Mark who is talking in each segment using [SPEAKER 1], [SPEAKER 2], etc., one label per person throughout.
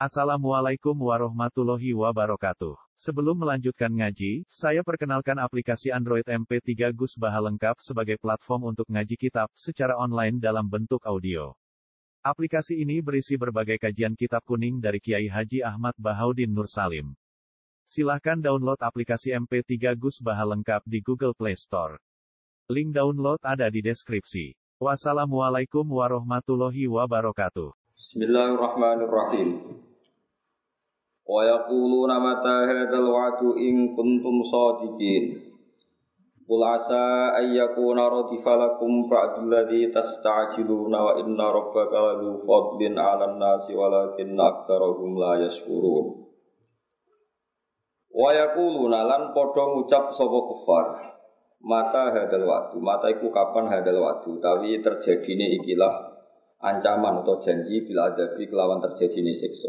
[SPEAKER 1] Assalamualaikum warahmatullahi wabarakatuh. Sebelum melanjutkan ngaji, saya perkenalkan aplikasi Android MP3 Gus Baha lengkap sebagai platform untuk ngaji kitab secara online dalam bentuk audio. Aplikasi ini berisi berbagai kajian kitab kuning dari Kiai Haji Ahmad Bahaudin Nur Salim. Silahkan download aplikasi MP3 Gus Baha lengkap di Google Play Store. Link download ada di deskripsi. Wassalamualaikum warahmatullahi wabarakatuh.
[SPEAKER 2] Bismillahirrahmanirrahim. Wa yaquluna mata hadzal wa'du in kuntum shadiqin. Qul asa ay yakuna radifa lakum ba'dul ladzi tasta'jiluna wa inna rabbaka ladzu fadlin 'alan nasi walakinna aktsarahum la yashkurun. Wa yaquluna lan padha ngucap sapa kufar. Mata hadzal wa'du, mata iku kapan hadzal wa'du, utawi terjadine ikilah ancaman atau janji bila adabi kelawan terjadine siksa.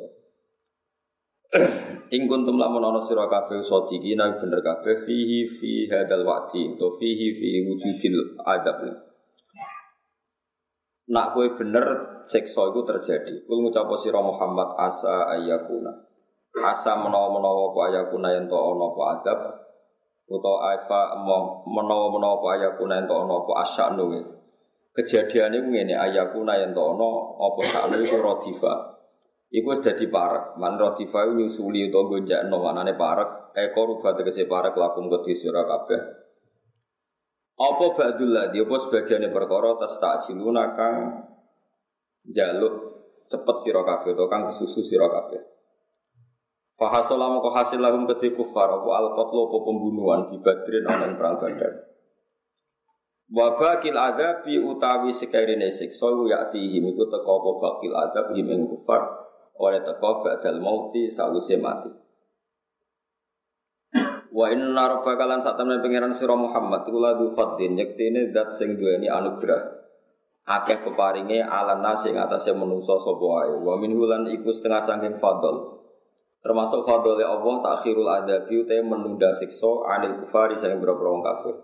[SPEAKER 2] Ing kuntum lamun ana sira kabeh sadiqina bener kabeh fihi fi hadzal wa'di to fihi fi wujudil adab. Nak kowe bener siksa iku terjadi. Kul ngucap sira Muhammad asa ayakuna. Asa menawa-menawa apa ayakuna yen to ana apa adab utawa apa menawa-menawa apa ayakuna yen to ana apa asyanu. Kejadiane ngene ayakuna yen to ana apa sakno iku radifa. Iku wis dadi parek, man radifa nyusuli utawa gonjakno manane parek, rubat tegese parek lakum kedhi sira kabeh. Apa ba'dul ladzi apa sebagiane perkara tastajiluna kang njaluk cepet sira kabeh utawa kang kesusu sira kabeh. Fa hasala moko hasil lahum kedhi kufar apa al-qatlu apa pembunuhan di Badrin ana ing perang Badar. Wa baqil adzabi utawi sekarene siksa ya'tihim iku teka apa baqil adzab ing kufar oleh teko ba'dal mauti saluse mati. Wa inna rabbaka lan satamene pangeran sira Muhammad iku ladzu fadlin yektene zat sing duweni anugerah. Akeh peparinge ala nasi ing atase manungsa sapa wae. Wa minhu lan iku setengah saking fadl. Termasuk fadl Allah takhirul adzabi te menunda siksa anil kufari sing boro-boro wong kafir.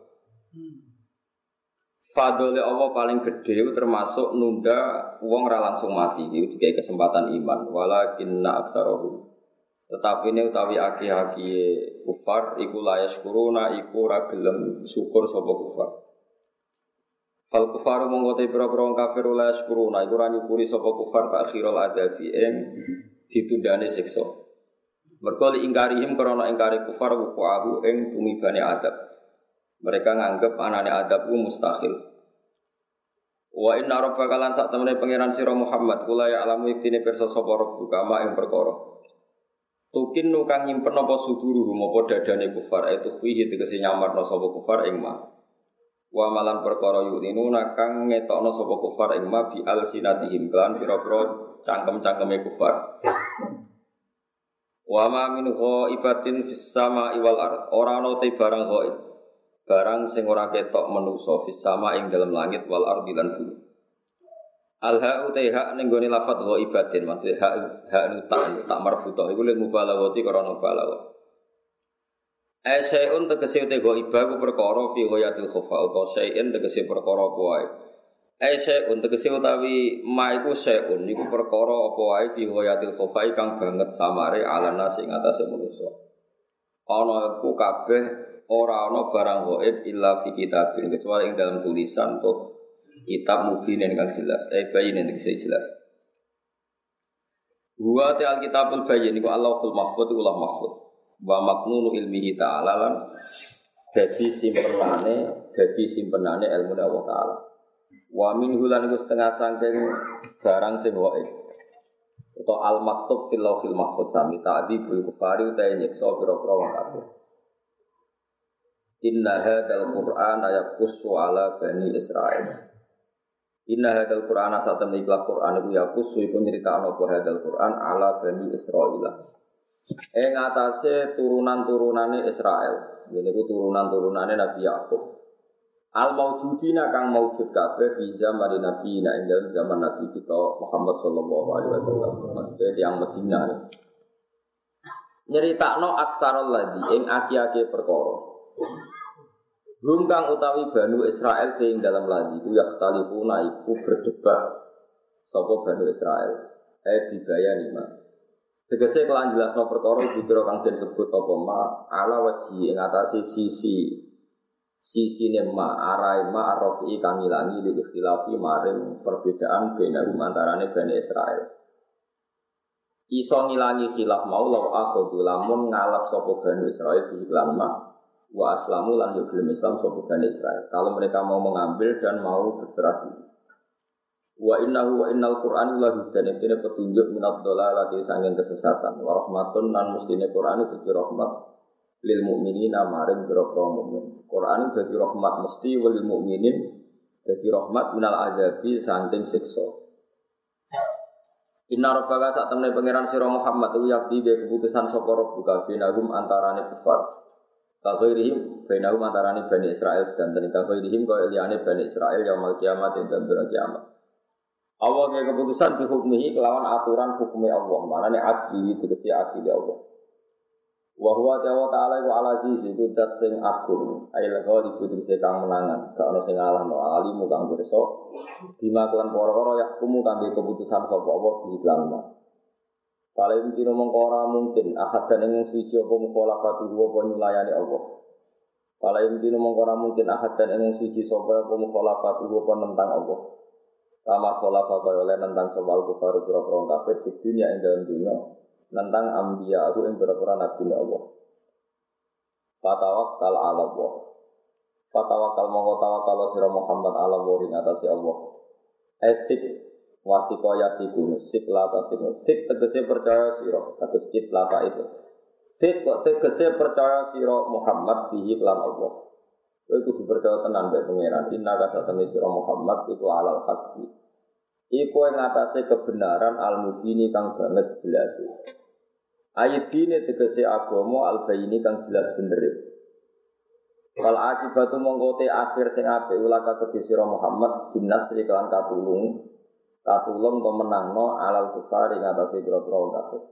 [SPEAKER 2] Fadole Allah paling gede termasuk nunda wong ora langsung mati iki dikai kesempatan iman walakinna aktsarahum tetapi ini utawi aki-aki kufar iku la yashkuruna iku ora gelem syukur sapa kufar fal kufaru monggo te pira-pira wong kafir la yashkuruna iku ora nyukuri sapa kufar takhirul adabi ing ditundane siksa mergo ingkarihim krana ingkari kufar wuqa'u ing tumibane adab. Mereka nganggep anane adab ku mustahil. Wa inna rabbaka lan sak temene pangeran sira Muhammad kula ya alamu iktine pirsa sapa rabbuka ma ing perkara. Tukin nu kang nyimpen apa suduruhum apa dadane kufar itu fihi tegese nyamarno sapa kufar ing ma. Wa malan perkara yuninu kang ngetokno sapa kufar ing ma bi alsinatihim lan pira-pira cangkem-cangkeme kufar. Wa ma min ghaibatin fis sama'i wal ard ora ana te barang ghaib. Barang sing ora ketok manusa fis sama ing dalam langit wal ardi lan bumi. Al ha'u ta ning gone lafadz ghaibatin maksude ha'u tak marbutah iku lil mubalaghati karena balagha. Asyai'un tegese te ghaibah ku perkara fi ghayatil khofa utawa syai'in tegese perkara apa wae. Asyai'un tegese utawi ma iku syai'un iku perkara apa wae fi ghayatil khofa kang banget samare alana sing atase manusa. Ana iku kabeh ora ana barang ghaib illa fi kitabin kecuali ing dalam tulisan atau kitab mubin yang jelas bayin yang jelas. Wa ta'al kitabul bayin iku Allahul mahfuz ulah mahfuz wa maknunu ilmihi ta'ala lan dadi simpenane ilmu Allah taala. Wa minhu lan iku setengah saking barang sing ghaib atau al maktub fil lauhil mahfuz sami ta'dibul kufari utawa nyiksa pira-pira wong kafir. Inna hadzal Qur'ana yaqussu ala bani Israil. Inna hadzal Qur'ana satamne ikhlas Qur'an iku yaqussu iku nyritakno apa hadzal Qur'an ala bani Israil. Ing atase turunan-turunane Israel. Niku turunan-turunane Nabi Yakub. Al maujudina kang maujud kabeh fi zaman Nabi ing dalem zaman Nabi kita Muhammad sallallahu alaihi wasallam. Maksudnya yang Madinah. Nyritakno aktsarul ladzi ing aki-aki perkara. Kang utawi Banu Israel sing dalam lagi ku yakhtalifuna iku berdebat sapa Banu Israel dibayani mah Tegese kelan jelasno perkara dikira kang den sebut apa ma ala waji ing atase sisi ma arai ma arrofi kang ngilangi lil ikhtilafi maring perbedaan benahum antarane Bani Israil. Iso ngilangi khilaf mau law akhadhu lamun ngalap sapa Bani Israil di iklan ma wa aslamu lan gelem Islam sapa Bani Israil. Kalau mereka mau mengambil dan mau berserah diri. Wa innahu wa innal Qur'an la hudan iki petunjuk minad dhalalati sanging kesesatan wa rahmatun lan mestine Qur'an itu rahmat lil mukminina maring pira-pira mukmin. Qur'an dadi rahmat mesti lil mukminin dadi rahmat minal azabi saking siksa. Inna rabbaka sak temne pangeran sira Muhammad ku yakti de keputusan sapa rabbuka binahum antarane kufar. Kaghairihim binahum antarane Bani Israil sedanten kaghairihim kaya liyane Bani Israil yaumul kiamat ing dalem kiamat. Allah kaya keputusan dihukmihi kelawan aturan hukumnya Allah. Maknanya adli itu tegesi adli Allah. Wa huwa ta'ala wa ala aziz itu dat sing agung. Ail ghalib tegesi kang menangan. Gak ono sing ngalahno alimu kang pirsa. Bima kelan perkara yahkumu kangge keputusan sapa Allah di iklan. Kalau mungkin ora mungkin ahad dan ing suci apa mukhalafatu apa nyulayani Allah. Kalau mungkin ora mungkin ahad dan ing suci sapa apa mukhalafatu apa nentang Allah. Sama pola pakai oleh nentang soal kufar pura-pura kafir di dunia yang dalam dunia nentang ambiya aku yang pura-pura nabi Allah. Fatawakal ala Allah. Fatawakal mongko tawakal sira Muhammad ala Allah ing atase Allah. Etik wasikoyatiku sik lata sik tegese percaya sira kados kit lata itu. Sik kok tegese percaya sira Muhammad bihi lan Allah. Kowe kudu percaya tenan mbek pangeran. Inna kasatene sira Muhammad iku alal haqqi. Iku ing atase kebenaran al-mubini kang banget jelas. Ayatine tegese agama al-bayini kang jelas bener. Wal akibatu mongko te akhir sing apik ulaka kedhe sira Muhammad binasri kelan katulung to menangno alal kufar ing atase pira-pira kafir.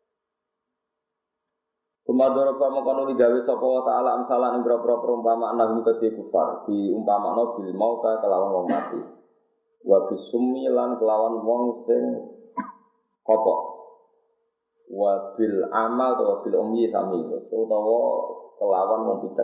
[SPEAKER 2] Sumadoroba mengkono digawe sapa wa ta'ala amsalan ing boro-boro perumpamaan nahum kedhe kufar diumpamakno bil mauta kelawan wong mati wa bisummi lan kelawan wong sing kopok wa bil amal utawa bil ummi sami utawa kelawan wong picek.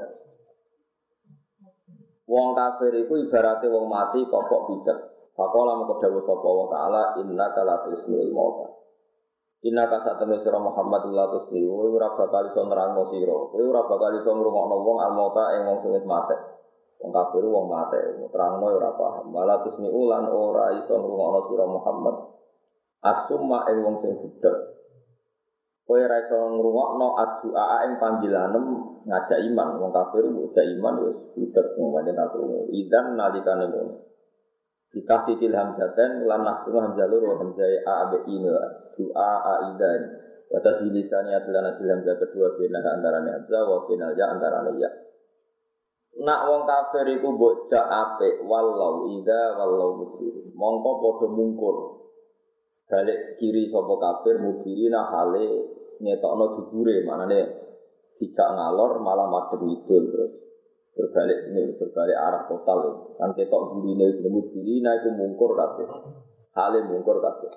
[SPEAKER 2] Wong kafir iku ibarate wong mati kopok picek. Faqala mengko dawuh sapa wa ta'ala innaka la tusmi'ul mauta. Inna kasatene sira Muhammad ulatus bi ora bakal iso nerangno sira. Kowe ora bakal iso ngrungokno wong almauta ing wong sing wis mate. Wong kafir wong mate, nerangno ora paham. Walatus mi ulan ora iso ngrungokno sira Muhammad. Asumma ing wong sing budhek. Kowe ora iso ngrungokno addu'a ing panggilanem ngajak iman. Wong kafir ngajak iman wis budhek ngene aku. Idan nalikane ngono. Kita fikil hamzatan lan nahkunu hamzalur wa hamzai a b i doa aidan batas lisannya adalah hasil hamzah kedua bina antarane hamzah wa binal ya antarane ya. Nak wong kafir iku mbok jak apik wallau ida wallau mudhir mongko padha mungkur balik kiri sapa kafir mudhirina hale ngetokno dubure manane dijak ngalor malah madhep ngidul terus berbalik arah total kan ketok burine jenenge burina iku mungkur kabeh hale mungkur kabeh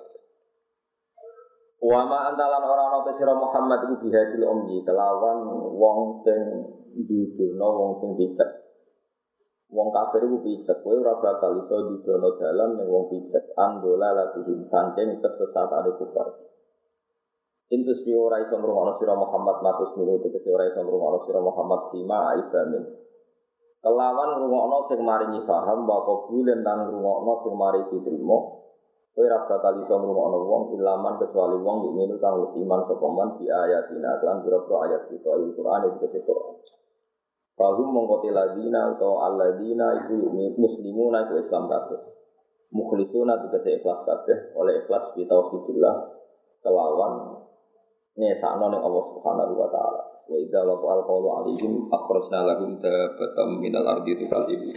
[SPEAKER 2] wa ma antalan ora ana te sira Muhammad iku bihadil ummi kelawan wong sing didono wong sing picek wong kafir iku picek kowe ora bakal iso didono dalan ning wong picek andola latihim saking kesesatane kufar intus bi ora iso ngrungokno sira Muhammad matus minu tegese ora iso ngrungokno sira Muhammad sima ibamin kelawan ngrungokno sing maringi paham wa qabulen lan ngrungokno sing mari diterima kowe ora bakal iso ngrungokno wong ilaman kecuali wong mukmin kang wis iman sapa man bi ayatina lan pira-pira ayat kita Al-Qur'an iki Quran. Fahum mongko ladina utawa alladzina iku muslimuna iku Islam kabeh. Mukhlisuna tegese ikhlas kabeh oleh ikhlas bi tauhidillah kelawan nesakno ning Allah Subhanahu wa taala. Wa idza waqa'al qawlu 'alaihim akhrajna lahum dabbatan minal ardi tukallimu.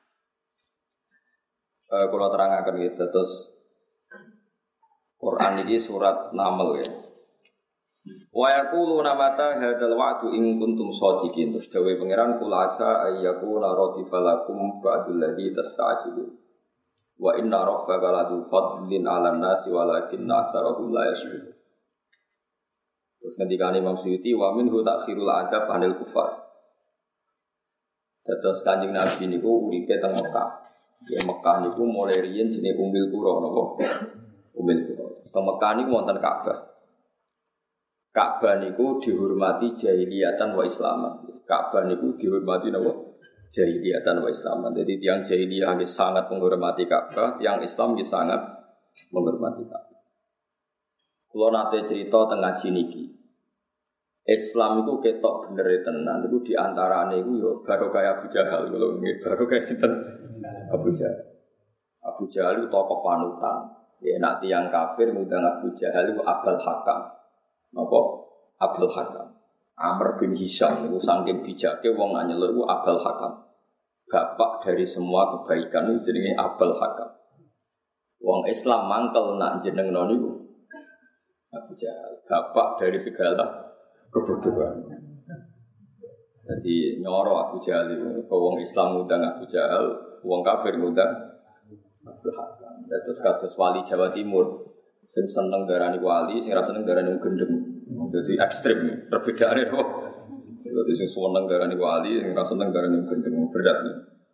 [SPEAKER 2] Kalau terangkan gitu terus Quran ini surat Naml ya. Wa yaquluna mata hadzal wa'du in kuntum shadiqin. Terus dawuh pangeran kula asa ayyakuna radifalakum ba'dul ladzi tasta'jilun. Wa inna rabbaka ladu fadlin 'alan nasi walakinna aktsarahum la yashkurun. Terus ngendikane Imam Suyuti wa minhu ta'khirul adab anil kufar. Terus Kanjeng Nabi niku uripe teng Mekah. Ya Mekah niku mulai riyen jenenge Ummul Qura napa? Ummul Qura. Teng Mekah niku wonten Ka'bah. Ka'bah niku dihormati jahiliyatan wa islaman. Ka'bah niku dihormati napa? Jahiliyatan wa islaman. Jadi tiang jahiliyah sangat menghormati Ka'bah, tiang Islam sangat menghormati Ka'bah. Kalau nate cerita tengah niki, Islam itu ketok bener tenan. Itu diantaranya itu yo baru kayak Abu Jahal. Kalau ini baru kayak sinten Abu Jahal. Abu Jahal itu tokoh panutan. Ya nak tiang kafir ngundang Abu Jahal itu Abul Hakam. Napa? Abul Hakam. Amr bin Hisham itu saking bijaknya wong nanya itu Abul Hakam. Bapak dari semua kebaikan itu jenenge Abul Hakam. Wong Islam mangkel nak jeneng niku Abu Jahal, bapak dari segala kebodohan. Jadi nyoro Abu Jahal itu, wong Islam ngundang Abu Jahal, wong kafir ngundang Abu Hakam. Terus kados wali Jawa Timur, sing seneng darani wali, sing ra seneng darani gendeng. Jadi ekstrem, perbedaane kok. Jadi sing seneng darani wali, sing ra seneng darani gendeng, berat.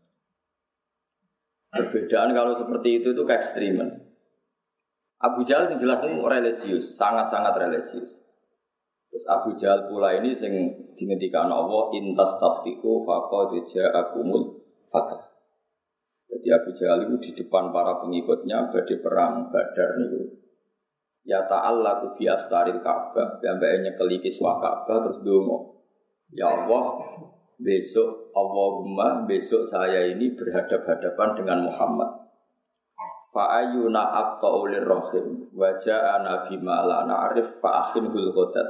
[SPEAKER 2] Perbedaan kalau seperti itu keekstreman. Abu Jahal yang jelas itu religius, sangat-sangat religius. Terus Abu Jahal pula ini sing dingendikan Allah intas taftiku faqad ja'akumul fatah. Jadi Abu Jahal itu di depan para pengikutnya badhe perang Badar niku. Ya ta'allaku bi astaril Ka'bah, ambeknya keliki swa Ka'bah terus ndonga. Ya Allah, Allahumma besok saya ini berhadap-hadapan dengan Muhammad. Fa'ayuna abta'ulir rahim waja'ana bima la na'rif fa'akhinhul ghadat.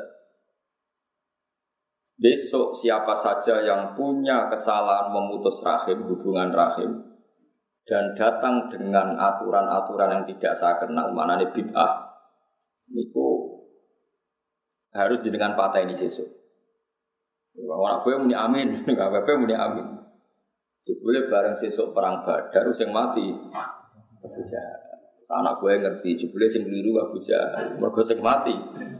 [SPEAKER 2] Besok siapa saja yang punya kesalahan memutus rahim, hubungan rahim, dan datang dengan aturan-aturan yang tidak saya kenal, maknanya bid'ah, niku harus dengan patah ini sesuk. Orang gue muni amin, nggak apa-apa muni amin. Jebule bareng sesuk perang Badar sing mati Abu Jahal. Anak gue ngerti, jebule sing keliru Abu Jahal, mergo sing mati.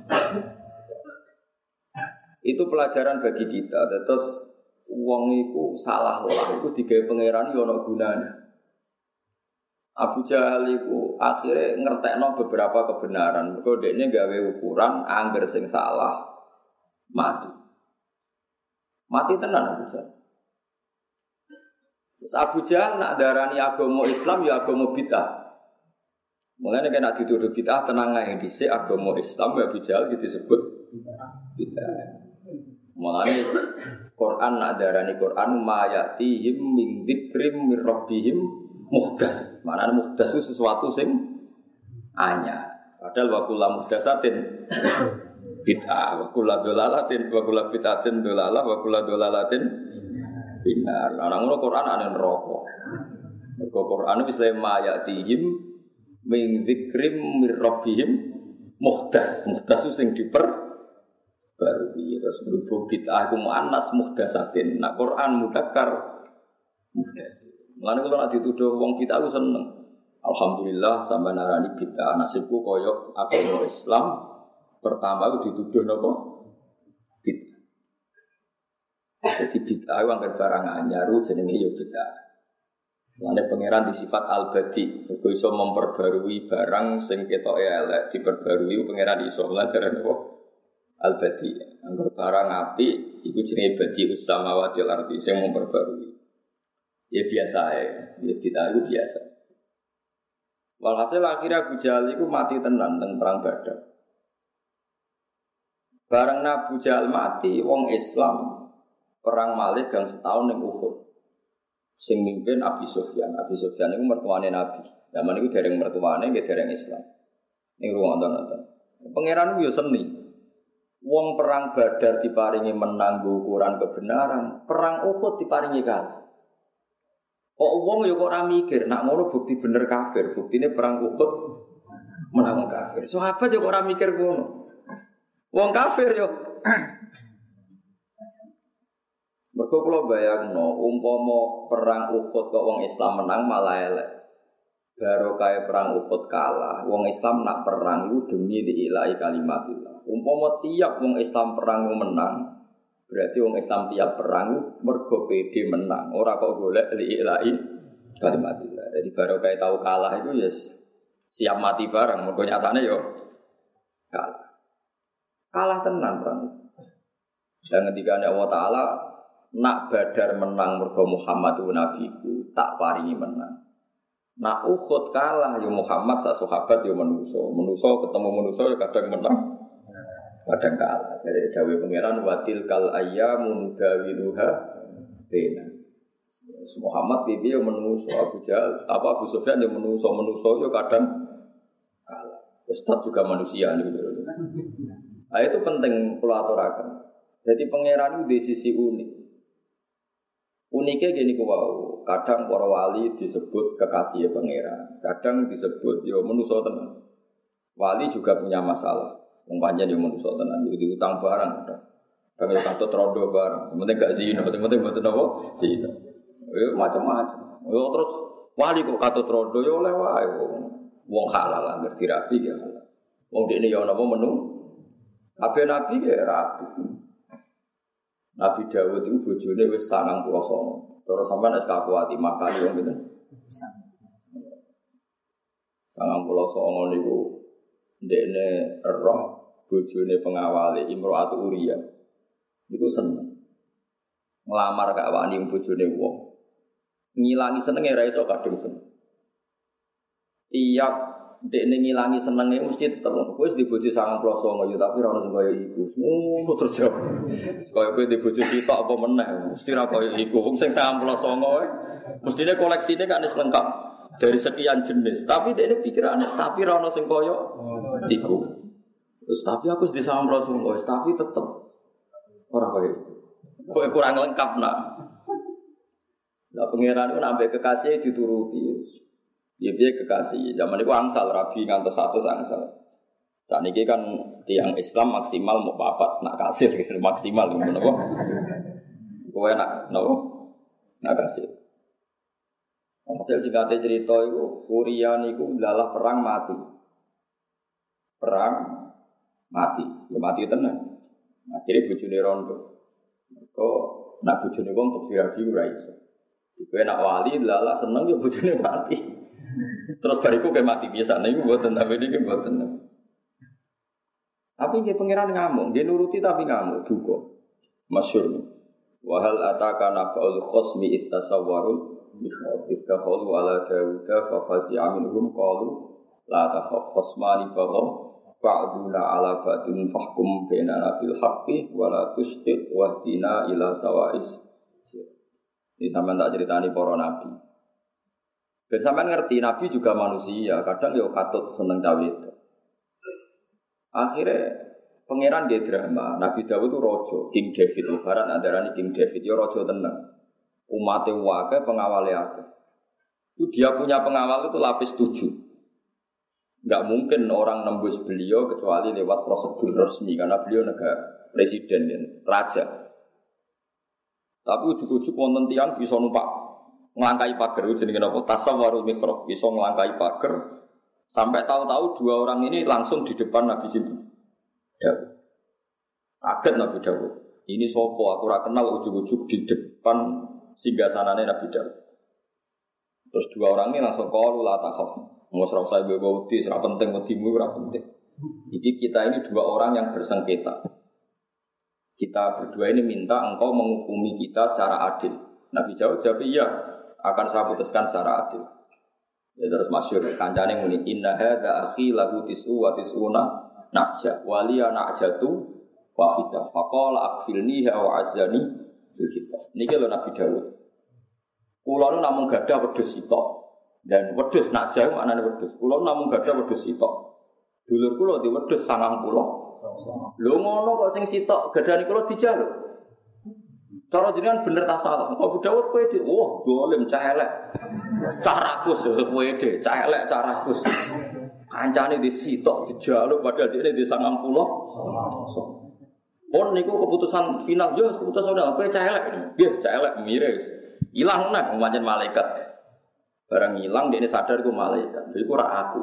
[SPEAKER 2] Itu pelajaran bagi kita. Terus wong iku salah lah, iku digawe pangeran yo ana gunane. Abu Jahal iku akhirnya ngertekno beberapa kebenaran. Mergo dekne gawe ukuran angger sing salah mati. Mati tenan Abu Jahal. Terus Abu Jahal nak darani agama Islam ya agama bid'ah. Mulane nek nak dituduh bid'ah tenang ae dhisik agama Islam ya Abu Jahal disebut bid'ah. Mulane Quran nak darani Quran ma yatihim min dzikrim mir rabbihim muhdas. Maknane muhdas itu sesuatu sing anyar. Padahal wa kullu muhdasatin bid'ah, wa kullu dolalatin, wa kullu bid'atin dolalah, wa kullu dolalatin binar. Lah ngono Quran ana neraka. Mergo Quran wis ma yatihim min dzikrim mir rabbihim muhdas. Muhdas itu sing diper baru terus berhubung bid'ah iku muannas muhdatsatin. Nak Quran mudzakkar muhdas. Mulane kula nek dituduh wong bid'ah ku seneng. Alhamdulillah sampeyan narani bid'ah nasibku kaya agama Islam. Pertama ku dituduh napa? Bid'ah. Jadi bid'ah ku anggar barang anyar jenenge ya bid'ah. Mulane pangeran disifat al-badi, kok iso memperbarui barang sing ketoke elek diperbarui pangeran iso lan dereng apa? Al-badi. Angger barang apik iku jenenge badi samawati wal ardi sing memperbarui. Ya biasa ya bid'ah itu biasa. Walhasil akhirnya Abu Jahal itu mati tenan teng perang Badar. Bareng Abu Jahal mati, wong Islam perang malih gang setahun ning Uhud. Sing mimpin Abi Sufyan. Abi Sufyan itu mertuane Nabi. Zaman itu dereng mertuane, nggih dereng Islam. Ning ruang nonton. Pangeran yo seni. Wong perang Badar diparingi menang ukuran kebenaran, perang Uhud diparingi kalah. Kok wong yo kok ora mikir, nak ngono bukti bener kafir, buktine perang Uhud menang kafir. Sahabat yo kok ora mikir ngono. Wong kafir yo. Mergo kula bayangno umpama perang Uhud kok wong Islam menang malah elek. barokah perang Uhud kalah. Wong Islam nak perang itu demi diilahi kalimatillah. Umpama tiap wong Islam perang menang, berarti wong Islam tiap perang mergo pede menang. Ora kok golek diilahi kalimatillah. Jadi barokah tahu kalah itu ya siap mati bareng. Mergo nyatane yo kalah. Kalah tenan perang. Dan ketika Allah Ta'ala nak Badar menang mergo Muhammad itu nabiku tak paringi menang. Nak Uhud kalah yo Muhammad sak sahabat yo manusa ketemu manusa yo kadang menang kadang kalah. Dari dawuh pangeran watil kal ayyamu nudawiluha baina. Muhammad piye yo manusa Abu Jahal Abu Sufyan yo manusa yo kadang kalah. Ustaz juga manusia gitu. Nah, itu penting kula aturaken. Jadi pangeran itu di sisi unik. Uniknya gini kuwau, kadang para wali disebut kekasih pangeran, kadang disebut yo manusa tenan. Wali juga punya masalah, wong pancen yo manusa tenan, yo diutang barang, kadang yo katut rondo barang, penting gak zina, penting mboten apa zina. Yo macam-macam. Yo terus wali kok katut rondo yo oleh wae wong halal lah ngerti rapi ya. Wong dekne yo napa menu? Kabeh nabi ya rapi. Nabi Dawud itu bojone wis 99. Terus sampean es kakuati makali wong pinten? 99 niku ndekne roh bojone pengawale Imro'atu Uriyah. Niku seneng. Nglamar gak wani bojone wong. Ngilangi senenge ra iso kadung seneng. Tiap dekne ngilangi senenge mesti tetep kowe wis di bojo 99 yo tapi ora ono sing kaya iku. Ngono terus jawab. Kaya kowe di bojo sitok apa meneh mesti ora kaya iku. Wong sing 99 wae mestine koleksine kan wis lengkap dari sekian jenis. Tapi dekne pikirane tapi ora ono sing kaya iku. Terus tapi aku wis di 99 wis tapi tetep ora kaya iku. Kowe kurang lengkap nak. Lah pangeran ku nambah kekasih dituruti. Dia kekasih. Zaman itu angsal rabi ngantos 100 angsal. Saat ini kan tiang Islam maksimal mau papat nak kasir gitu maksimal ngono apa? Kowe nak nopo? Nak kasir. Hasil singkatnya cerita itu Uriah niku dalah perang mati. Perang mati. Ya mati tenan. Akhirnya bojone rondo. Kok nak bojone wong kok rabi ora iso. Kowe nak wali dalah seneng ya bojone mati. Terus bariku kayak mati biasa, nih gue buatan tapi ini gue buatan. Tapi dia pangeran ngamuk, dia nuruti tapi ngamuk juga. Masyur nih. Wahal ataka nafa'ul khosmi istasawwarul istakhalu ala Dawuda fafasi aminuhum qalu la takhaf khosmani baghaw ba'duna ala ba'dun fahkum bainana bil haqqi wa la tustit wahdina ila sawa'is. Ini sampean tak ceritani para nabi. Dan sampean ngerti Nabi juga manusia, kadang yo katut seneng cawe itu. Akhirnya pangeran dia drama. Nabi Dawud itu rojo, King David. Barat antaranya King David, yo rojo tenang. Umatnya wakai pengawalnya ada. Itu dia punya pengawal itu lapis 7. Enggak mungkin orang nembus beliau kecuali lewat prosedur resmi karena beliau negara presiden dan raja. Tapi ujuk-ujuk wonten tiyang bisa numpak ngelangkai pagar, jenenge napa tasawwarul mihrab, bisa ngelangkai pagar sampai tahu-tahu 2 orang ini langsung di depan Nabi situ. Ya. Kaget Nabi Dawud. Ini sopo aku ora kenal ujuk-ujuk di depan singgasanane Nabi Dawud. Terus 2 orang ini langsung qalu la takhaf. Mos ora usah wedi, ora penting wedimu ora penting. Iki kita ini 2 orang yang bersengketa. Kita berdua ini minta engkau menghukumi kita secara adil. Nabi jawab iya. Akan saya putuskan secara adil. Ya terus masyhur kancane muni inna hadza akhi lahu tis'u wa tis'una najah waliya najatu wahidah faqala akfilniha wa azani bil kitab. Niki lho Nabi Dawud. Kula nu namung gadah wedhus sitok. Dan wedhus najah maknane wedhus. Kula namung gadah wedhus sitok. Dulur kula di wedhus 90. Lho ngono kok sing sitok gadane kula dijaluk. Cara jenengan bener ta salah. Abu Dawud kowe dhe, wah dolim cah elek. Cah rakus kowe dhe, cah elek cah rakus. Kancane disitok dijaluk padahal dhekne di 90. Pon niku keputusan final yo keputusan udah kowe cah elek. Nggih, cah elek mire. Ilang nang pancen malaikat. Barang hilang dia sadar ku malaikat. Iku ora aku.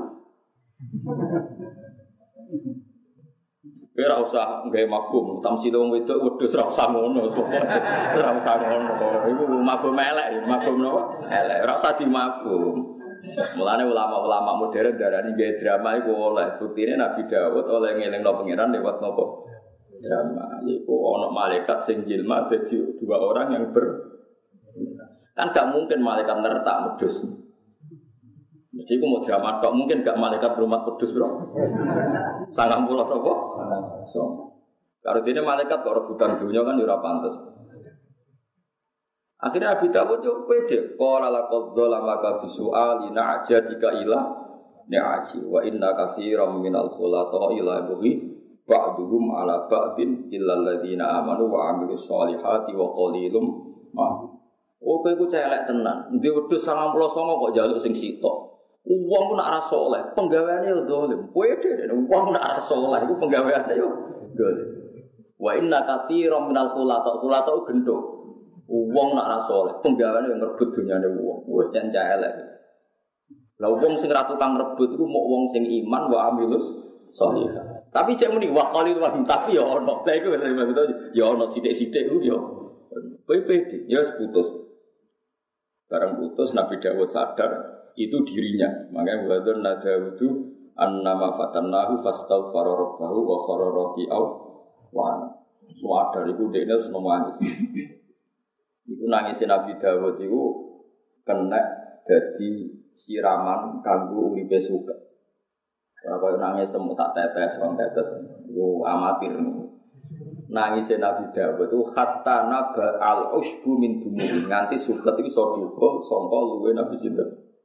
[SPEAKER 2] Ora usah gawe mafhum, tamsil wong wedok wedhus ora usah ngono. Ora usah ngono. Iku mafhum elek, mafhum napa? Elek, ora usah dimafhum. Mulane ulama-ulama modern darani gawe drama iku oleh. Buktine Nabi Daud oleh ngelingno pangeran lewat napa? Drama. Iku ana malaikat sing jilma dadi dua orang yang kan gak mungkin malaikat nertak wedhus. Mesti ku mau drama tok, mungkin gak malaikat rumah wedhus, Bro. 90 apa? So. Kalau dene malaikat kok rebutan dunya kan ya ora pantes. Akhirnya Abi Dawud yo pede, qala laqad zalamaka bisu'ali na'jadika ila ni'aji wa inna katsiran minal khulata ila bughi ba'duhum ala ba'din illa alladziina amanu wa 'amilus shalihati wa qalilum ma. Oh kowe iku celek tenan. Ndi wedhus 99 kok njaluk sing sitok. Wong ku nak ra saleh, penggaweane yo dolim. Pede wong nak ra saleh iku penggaweane yo dolim. Wa inna katsiran minal khulata gendho. Wong nak ra saleh, penggaweane yang ngerebut dunyane wong. Wis jan elek. Lah wong sing ra tukang rebut iku mok wong sing iman wa amilus shalihah. Tapi cek muni wa qalil wa tapi ya ono. Lah iku ya ono sithik-sithik ku ya. PPD ya putus. Barang putus Nabi Dawud sadar itu dirinya. Makanya wadon Dawudu annama fatannahu fastaghfara rabbahu wa khara raki'au wa sadar iku dekne wis nangis. Iku nangisé Nabi Dawud iku kena dadi siraman kanggo uripe suka. Ora koyo nangis semut sak tetes, rong tetes. Iku amatir. Nangisé Nabi Dawud itu hatta naba al-usbu min dumuri. Nganti suket iki iso dukul sangka luwe Nabi sinten.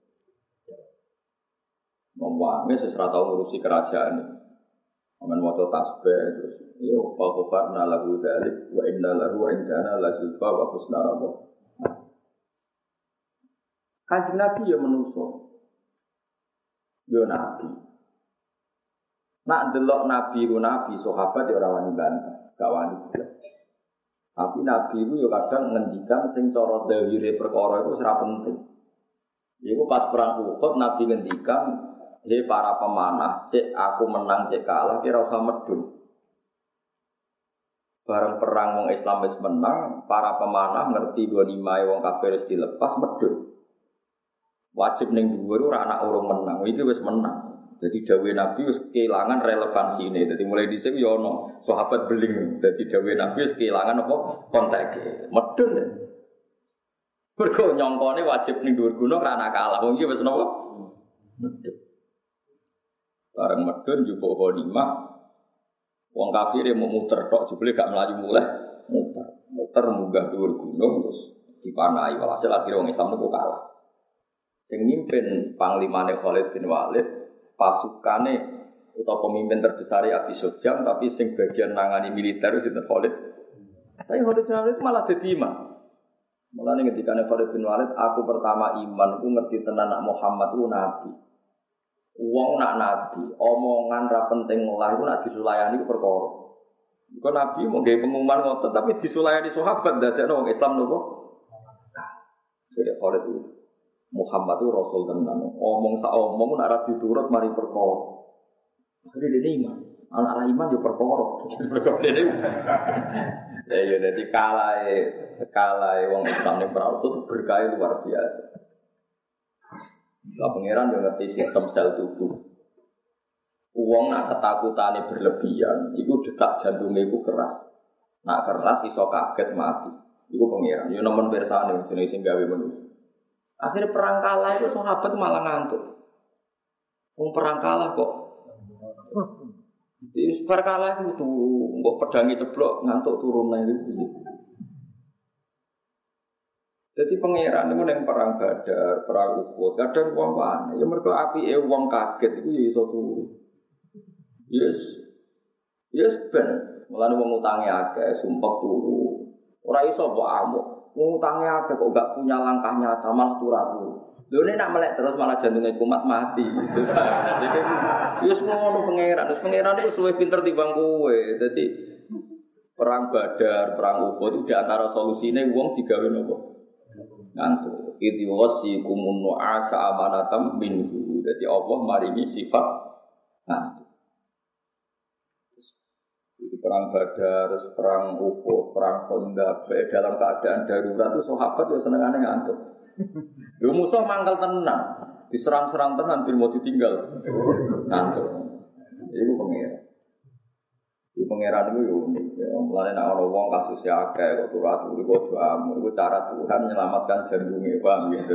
[SPEAKER 2] Wong wis ora tau ngurusi kerajaan. Aman maca tasbih terus yo fa ghafarna lahu dzalik wa inna lahu indana la zulfa wa husna rabbah. Kanjeng Nabi ya menungso. Yo nabi. Nak delok nabi ku nabi sahabat ya ora wani bantah, gak wani blas. Tapi nabi ku yo kadang ngendikan sing cara dhahire perkara iku ora penting. Iku pas perang Uhud nabi ngendikan hei para pemanah, cek aku menang, cek kalah, kira usah medun. Bareng perang wong Islam wis menang, para pemanah ngerti ghanimah wong kafir wis dilepas medun. Wajib ning dhuwur ora anak urung menang, iki wis menang. Jadi dawuh Nabi wis kehilangan relevansi ini. Jadi mulai dhisik yo ono sahabat beling. Jadi dawuh Nabi wis kehilangan apa konteke. Medun. Mergo nyongkone wajib ning dhuwur gunung ora anak kalah. Wong iki wis napa? Medun. Bareng medun njupuk ghanimah. Wong kafir mau muter tok jebule gak mlayu muleh, muter munggah dhuwur gunung terus dipanai. Walhasil akhire wong Islam niku kalah. Sing mimpin panglimane Khalid bin Walid, pasukane utawa pemimpin terbesar Abi Sufyan tapi sing bagian nangani militer sinten Khalid. Tapi Khalid bin Walid malah dadi imam. Mulane ngendikane Khalid bin Walid, aku pertama iman ku ngerti tenan nak Muhammad ku nabi. Wong nak nabi, omongan ra penting lah iku nak disulayani ku perkara. Iku nabi mau gawe pengumuman ngoten tapi disulayani sahabat dadekno wong Islam nopo? Jadi Khalid itu Muhammad itu rasul tenan. Omong sak omong nak ra diturut mari perkara. Akhire dene iman. Anak ra iman yo perkara. Ya dadi kalae wong Islam ning perang itu berkah luar biasa. Lah pangeran yo ngerti sistem sel tubuh. Wong nak ketakutane berlebihan, iku detak jantunge iku keras. Nak keras iso kaget mati. Iku pangeran. Yo nemen pirsane jenenge sing gawe manusa. Akhirnya perang kalah itu sahabat malah ngantuk. Wong perang kalah kok. Di perang kalah itu turu, mbok pedangi ceblok ngantuk turun nang iki. Jadi pangeran itu yang perang Badar, perang Uhud, kadang wong wane, ya mergo apike wong kaget iku ya iso turu. Yes ben, mulane wong utange akeh, sumpek turu. Ora iso mbok amuk. Wong utange akeh kok gak punya langkah nyata malah turu. Lho nek nak melek terus malah jantunge kumat mati. Jadi wis ngono pangeran, terus pangeran itu luwih pinter timbang kowe. Dadi perang Badar, perang Uhud itu di antara solusine wong digawe nopo? ngantuk. Idzi wasikumun nu'asa amanatam minhu. Dadi Allah maringi sifat ngantuk. Itu perang Badar, perang Uhud, perang Khandaq. Dalam keadaan darurat itu sahabat ya senengane ngantuk. Yo musuh mangkel tenan, diserang-serang tenan bil mau ditinggal. Ngantuk. Iku pengira. Iku pangeran iku yo unik. Mulane nek ana wong kasusnya akeh kok turu-turu kok jamu, iku cara Tuhan menyelamatkan jantunge, paham ya.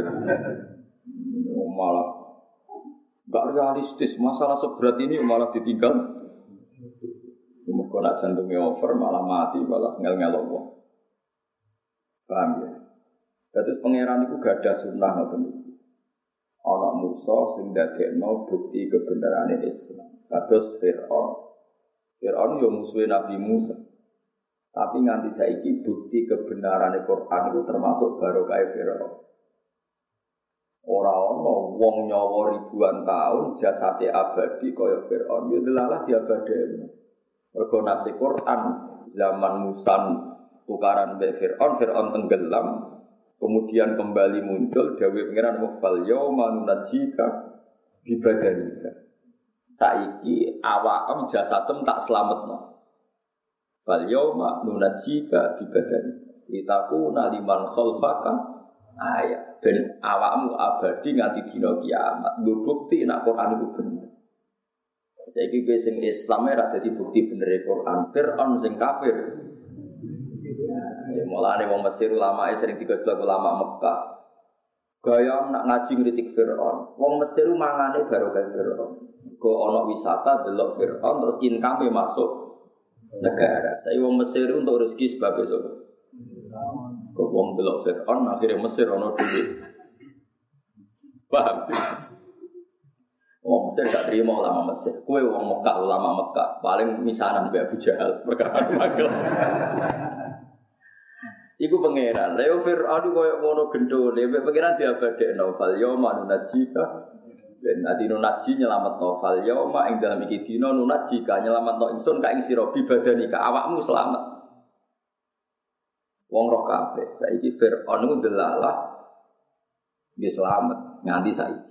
[SPEAKER 2] Malah enggak realistis, masalah seberat ini malah ditinggal. Mergo nek jantunge over malah mati, malah ngel-ngel wong. Paham ya. Dadi pangeran iku gadah sunah ngoten iki. Ana Musa sing dadekno bukti kebenarane Islam. Kados Fir'aun. Fir'aun yo musuhe Nabi Musa. Tapi nganti saiki bukti kebenaran Al-Qur'an itu termasuk barokah Fir'aun. Ora ana wong nyawa ribuan tahun jasate abadi kaya Fir'aun. Yo delalah diabadeni. Mergo nasi Qur'an zaman Musa tukaran mbek Fir'aun tenggelam, kemudian kembali muncul dawuh pangeran wafal yauma nunajjika bi badanika. Saiki awakam jasadem tak slametno. Fal yauma nunajjika bi badanika. Litakuna liman khalfaka ayat. Ben awakmu abadi nganti dina kiamat. Nggo bukti nek Quran iku bener. Saiki kowe sing Islam ora dadi bukti bener Quran. Fir'aun sing kafir. Ya mulane wong Mesir ulama sering digodhog ulama Mekah. Gaya nak ngaji ngritik Fir'aun. Wong Mesir mangane barokah Fir'aun. Go ana wisata delok Fir'aun terus income masuk negara. Saya wong Mesir untuk rezeki sebab itu. Go wong delok Fir'aun akhirnya Mesir ana duit. Paham? Wong Mesir gak terima ulama Mesir. Kowe wong Mekah ulama Mekah paling misanan mbek Abu Jahal perkara magel. Iku pangeran. Leo Fir'aun koyo ngono gendone, mbek pangeran diabadekno fal yauma nunajjika. Ben ati nunaji nyelametno fal yauma ing dalem iki dina nunajjika nyelametno ingsun ka ing sira bibadanika awakmu selamat. Wong roh kabeh. Saiki Fir'aun ku delalah nggih selamat nganti saiki.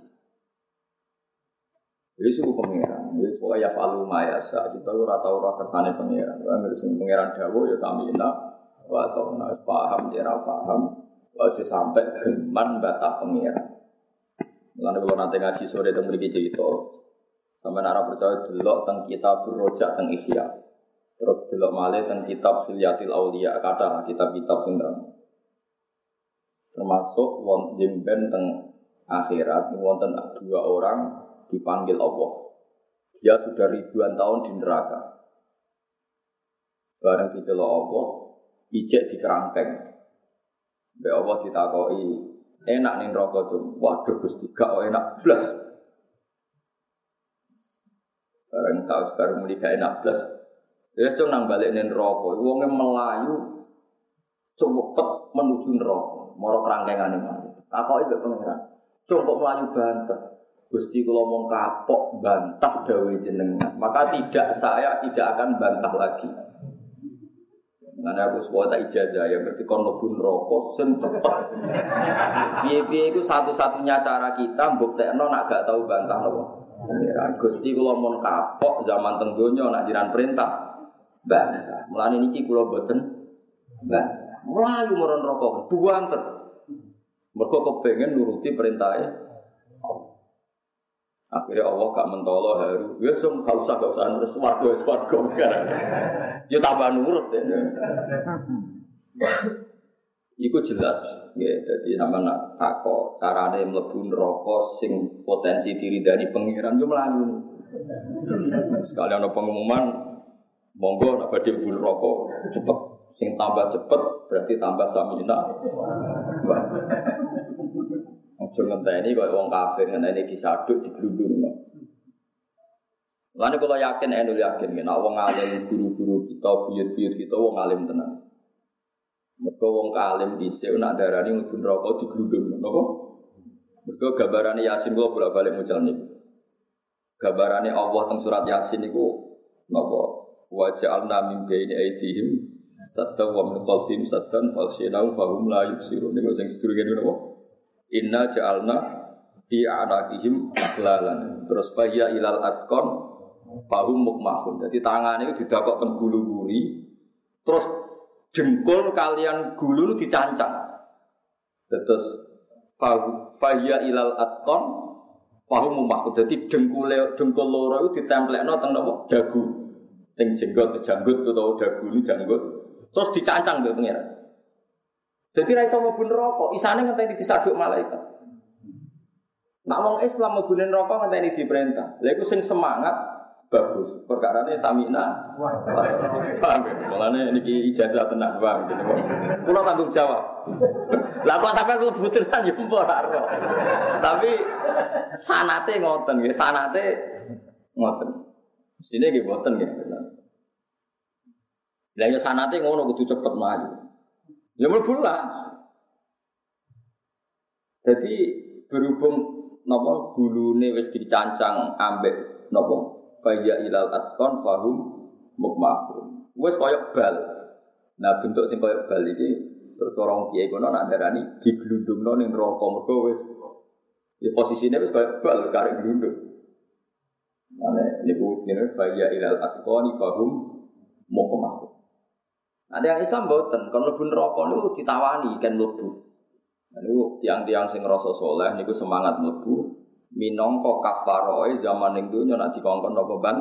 [SPEAKER 2] Wis ku pangeran, wis pokoke ya falu mayasa. Kita ora tau ora kersane pangeran. Ora sing pangeran dawuh ya samina. Wa ta'ala paham ya paham aja sampai geman batah pengira. Mulane kula nate ngaji sore teng mriki cerita sampeyan ora percaya delok teng kitab Rojak teng Ihya. Terus delok malih teng kitab Hilyatil Auliya kata kitab-kitab sing termasuk wonten ben teng akhirat wonten dua orang dipanggil Allah. Dia sudah ribuan tahun di neraka. Bareng dicelok Allah ijek di kerangkeng. Mbak Allah ditakoki, enak ning neraka tuh. Waduh Gusti, gak enak blas. Bareng bareng muni gak enak blas. Ya cung nang balik ning neraka, wonge melayu cepet menuju neraka, mara kerangkengane mati. Takoki mbek pangeran. Cung kok melayu banter. Gusti kula mung kapok bantah dawuh jenengan. Maka saya tidak akan bantah lagi. Karena aku sebuah tak ijazah ya berarti kon mlebu neraka sing cepet. Piye-piye iku satu-satunya cara kita mbuktekno nak gak tau bantah napa. Pangeran Gusti kula mun kapok zaman teng donya nak jiran perintah bantah. Mulane niki kula boten bantah. Mlayu marang neraka buanter. Mergo kepengin nuruti perintahe akhirnya Allah gak mentolo haru. Ya sum gak usah terus swarga kan. Ya tambah nurut ya. Iku jelas ya dadi sampean nak takok carane mlebu neraka sing potensi diridani pangeran yo mlayu. Sekali ana pengumuman monggo nak badhe mlebu neraka cepet sing tambah cepet berarti tambah samina. Ojo ngenteni kaya wong kafir ngenteni disaduk diglundungno. Lan kula yakin yakin nek wong alim guru-guru kita buyut-buyut kita wong alim tenan. Mergo wong alim dhisik nek darani mlebu neraka diglundungno napa? Mergo gambarane Yasin kula bolak-balik mucal niku. Gambarane Allah teng surat Yasin niku napa? wa ja'alna min baini aydihim saddan wa min khalfihim saddan faghshaynahum fahum la yubsirun. Niku sing sedurunge napa? Inna ja'alna fi a'naqihim aghlalan. Terus faya ilal atqan fahum mukmahun. Jadi tangane itu didakokken gulu-guri. Terus jempol kalian gulu dicancang. Terus faya ilal atqan fahum mukmahun. Jadi dengkul loro itu ditemplekno teng napa? Dagu. Teng janggut utawa dagu ini janggut. Terus dicancang mbek pengiran. Jadi ra iso mlebu neraka, isane ngenteni disaduk malaikat. Nek wong Islam mlebu neraka ngenteni diperintah. Lha iku sing semangat bagus. Perkarane samina. Paham ya? Mulane niki ijazah tenan wae gitu. Kula tanggung jawab. Lah kok sampean mlebu tenan ya mbok ora. Tapi sanate ngoten nggih, sanate ngoten. Mestine nggih mboten nggih. Lah yo sanate ngono kudu cepet maju. Ya mlebu lah. Jadi berhubung napa gulune wis dicancang ambek napa faya ilal atqan fahum mukmahun. Wis koyo bal. Nah bentuk sing koyo bal iki terus orang kiai kono nak darani diglundungno ning neraka mergo wis ya posisine wis koyo bal karek glundung. Mane niku jenenge faya ilal atqan fahum mukmahun. Ada yang Islam boten, kalau mlebu neraka niku ditawani kan mlebu. Niku tiang-tiang sing rasa saleh niku semangat mlebu minangka kafaroe zaman ning donya nek dikongkon apa ban.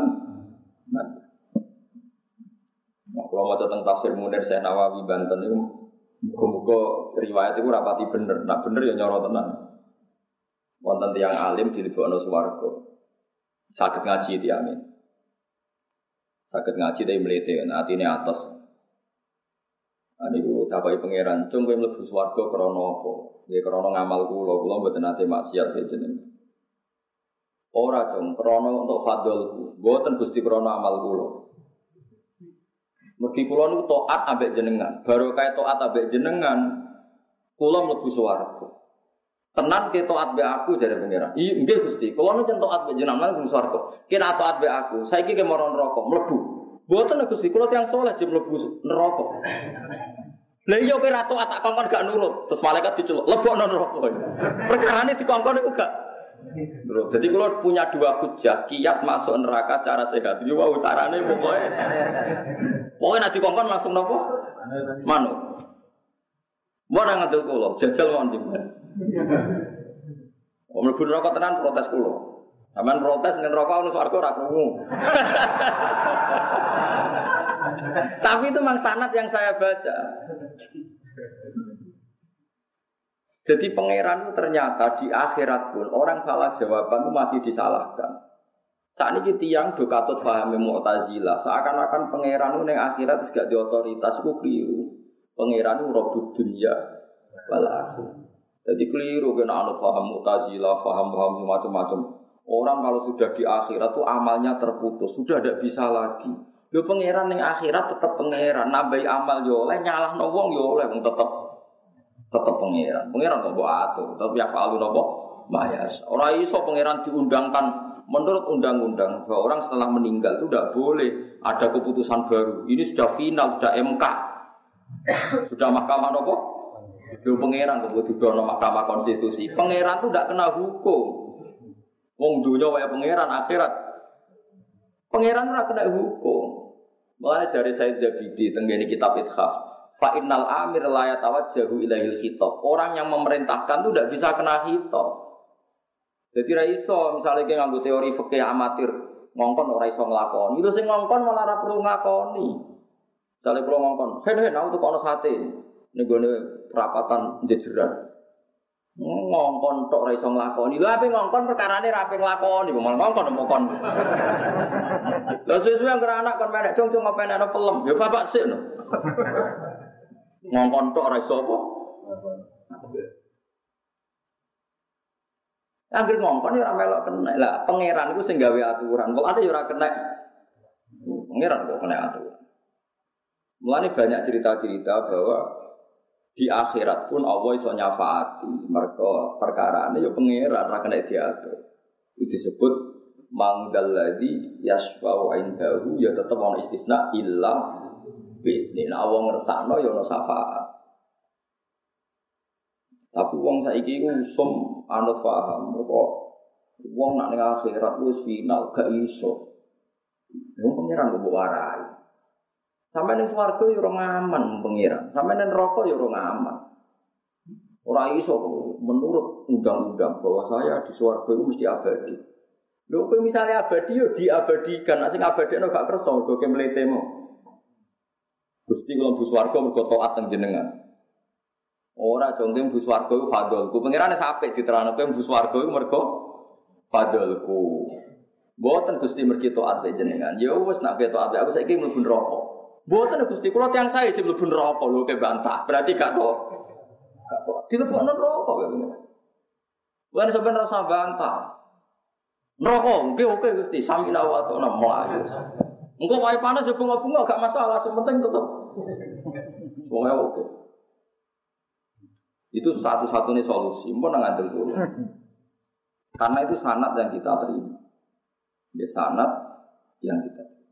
[SPEAKER 2] Nah, kalau maca teng tafsir Munir Syekh Nawawi Banten niku muga-muga riwayat iku rapati bener. Nek bener ya nyoro tenan. Wonten tiyang alim dilebokno swarga. Saged ngaji tiyangé. Saged ngaji tapi mlete atine atos. Niku dapai pangeran, cung kowe mlebu swarga krana apa? Nggih krana ngamal kula mboten nate maksiat jeneng. Ora cung krana untuk fadlku, mboten Gusti krana amal kula. Mergi kula niku taat ambek jenengan, barokah taat ambek jenengan, kula mlebu swarga. Tenan ke taat mbek aku jare pangeran. Iya nggih Gusti, kula niku taat mbek jenengan mlebu swarga. Kira taat mbek aku, saiki ke marang neraka, mlebu. Mboten Gusti, kula tiyang saleh jek mlebu neraka. Lah iya kira taat tak kongkon gak nurut, terus malaikat diceluk, lebokno neraka. Perkarane dikongkon iku gak nurut. Jadi kalau punya dua hujah, kiat masuk neraka secara sehat. Yo wow carane pokoke. Pokoke nek dikongkon langsung napa? Manut. Mun nang ngandel kula, jajal mawon jenengan. Om mlebu neraka tenan protes kula. Sampeyan protes ning neraka ono swarga ora krungu. Tapi itu memang sanad yang saya baca. Jadi pangeran itu ternyata di akhirat pun orang salah jawaban itu masih disalahkan. Saat ini tiang do katut pahami Mu'tazilah, seakan-akan pangeran itu yang akhirat gak di otoritas itu keliru. Pangeran itu Rabbud dunya wal akhirah. Jadi keliru kena anut paham Mu'tazilah, paham macam-macam. Orang kalau sudah di akhirat itu amalnya terputus, sudah tidak bisa lagi. Yo pangeran ning akhirat tetep pangeran, nambahi amal yo oleh, nyalahno wong yo oleh, wong tetep pangeran. Pangeran kok mbok atur, tapi ya falu napa? Mayas. Ora iso pangeran diundangkan menurut undang-undang bahwa orang setelah meninggal itu tidak boleh ada keputusan baru. Ini sudah final, sudah MK. Sudah mahkamah napa? Yo pangeran kok didono mahkamah konstitusi. Pangeran itu tidak kena hukum. Wong dunya wae pangeran akhirat. Pangeran ora kena hukum. Mulane jare Said Zabidi tenggene kitab Ithaf, fa innal amir la yatawajjahu ilaihil khitab. Orang yang memerintahkan itu tidak bisa kena khitab. Jadi ra iso misale ki nganggo teori fikih amatir, ngongkon ora iso nglakoni. Itu sing ngongkon malah ora perlu ngakoni. Misale kula ngongkon, "Sen aku tukono sate." Ning gone perapatan jejeran. Ngongkon tok ora iso nglakoni. Lha ape ngongkon perkarane ra ape nglakoni, malah ngongkon mokon. Lah suwe-suwe anggere anak kon menek cung-cung apa enek pelem, ya bapak sik no. Ngongkon tok ora iso apa? Anggere ngongkon ya ora melok kena. Lah pangeran iku sing gawe aturan, kok ate ya ora kena. Pangeran kok kena aturan. Mulane banyak cerita-cerita bahwa di akhirat pun Allah iso nyafaati mergo perkarane ya pangeran ora kena diatur. Itu disebut mangdalladzi yasfa'u indahu ya tetep ana istisna illa bi. Nek wong ngersakno ya ana syafaat. Tapi wong saiki ku usum anut paham kok wong nak ning akhirat wis final gak iso. Wong pengiran kok warai. Sampai ning swarga ya ora ngaman pengiran. Sampai ning neraka ya ora ngaman. Ora iso menurut undang-undang bahwa saya di swarga itu mesti abadi. Lho kowe misale abadi yo diabadikan, nek sing abadine gak kersa mergo ke mletemu. Gusti kula mlebu swarga mergo taat teng jenengan. Ora jongke mlebu swarga iku fadholku. Pangerane sapik diterangno kowe mlebu swarga iku mergo fadholku. Mboten Gusti mergi taat jenengan. Ya wis nek taat aku saiki mlebu neraka. Mboten Gusti kula tiyang sae sing mlebu neraka lho ke bantah. Berarti gak to. Gak to. Dilebokno neraka kowe. Bukan sebenarnya rasa bantah. Neraka, oke Gusti, samina wa ta'ala mlayu. Engko wae panas ya bunga-bunga gak masalah, sing penting tetep. Pokoke oke. Itu satu-satunya solusi, mbon nang ngandel dulu. Karena itu sanad yang kita terima. Ya sanad yang kita terima.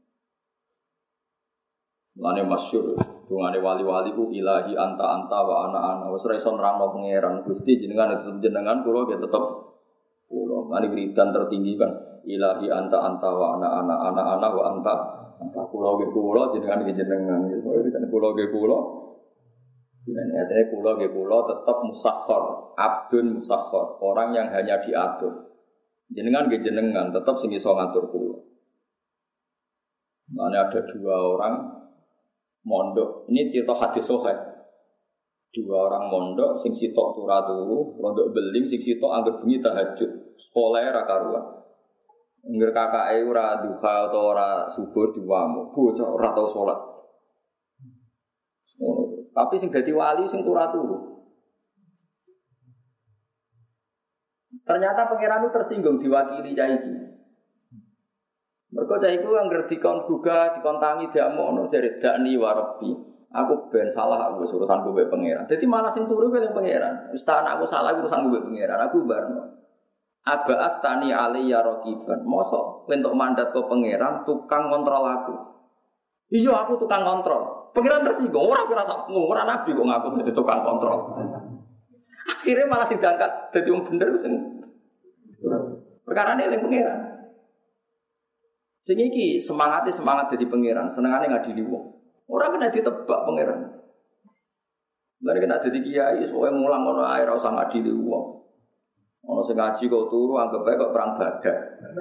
[SPEAKER 2] Mulane masyhur, dungane wali-wali ku ilahi anta wa ana. Wis ora iso nerangno pangeran Gusti jenengan jenengan kula ya tetep kula ngene wiridan tertinggi kan ilahi anta wa ana wa anta kula ge kula jenengan ge jenengan iso wiridan kula ge kula jenengan artine kula ge kula tetep musakhkhar abdun musakhkhar orang yang hanya diatur jenengan ge jenengan tetep sing iso ngatur kula. Mana ada dua orang mondok ini cerita hadis sahih. Dua orang mondok sing sitok turu mondok beling sing sitok anggere bengi tahajud sekolah ra karuan ngger kakake ora duha utawa ora subur diwamu bocah ora tau salat tapi sing dadi wali sing turu ternyata pangeran tersinggung diwakili cah iki mergo cah iku anggere dikon gugah dikon tangi diamono jare dakni warebi aku ben salah aku urusan gue pangeran. Jadi malah sing turu gue pangeran. Ustaz aku salah urusan gue pangeran. Aku barno. Aba astani ali ya raqiban. Mosok entuk mandat ke pangeran tukang kontrol aku. Iya aku tukang kontrol. Pangeran tersinggung. Ora tak ora nabi kok ngaku dadi tukang kontrol. Akhirnya malah sing diangkat dadi wong bener sing perkarane eling pangeran. Sing iki semangat dadi pangeran, senengane ngadili wong. Orang kena ditebak pangeran. Mereka kena jadi kiai, soalnya ngulang ngono air, rasa ngadili uang. Ono sing ngaji kok turu, anggap bae kok perang badar.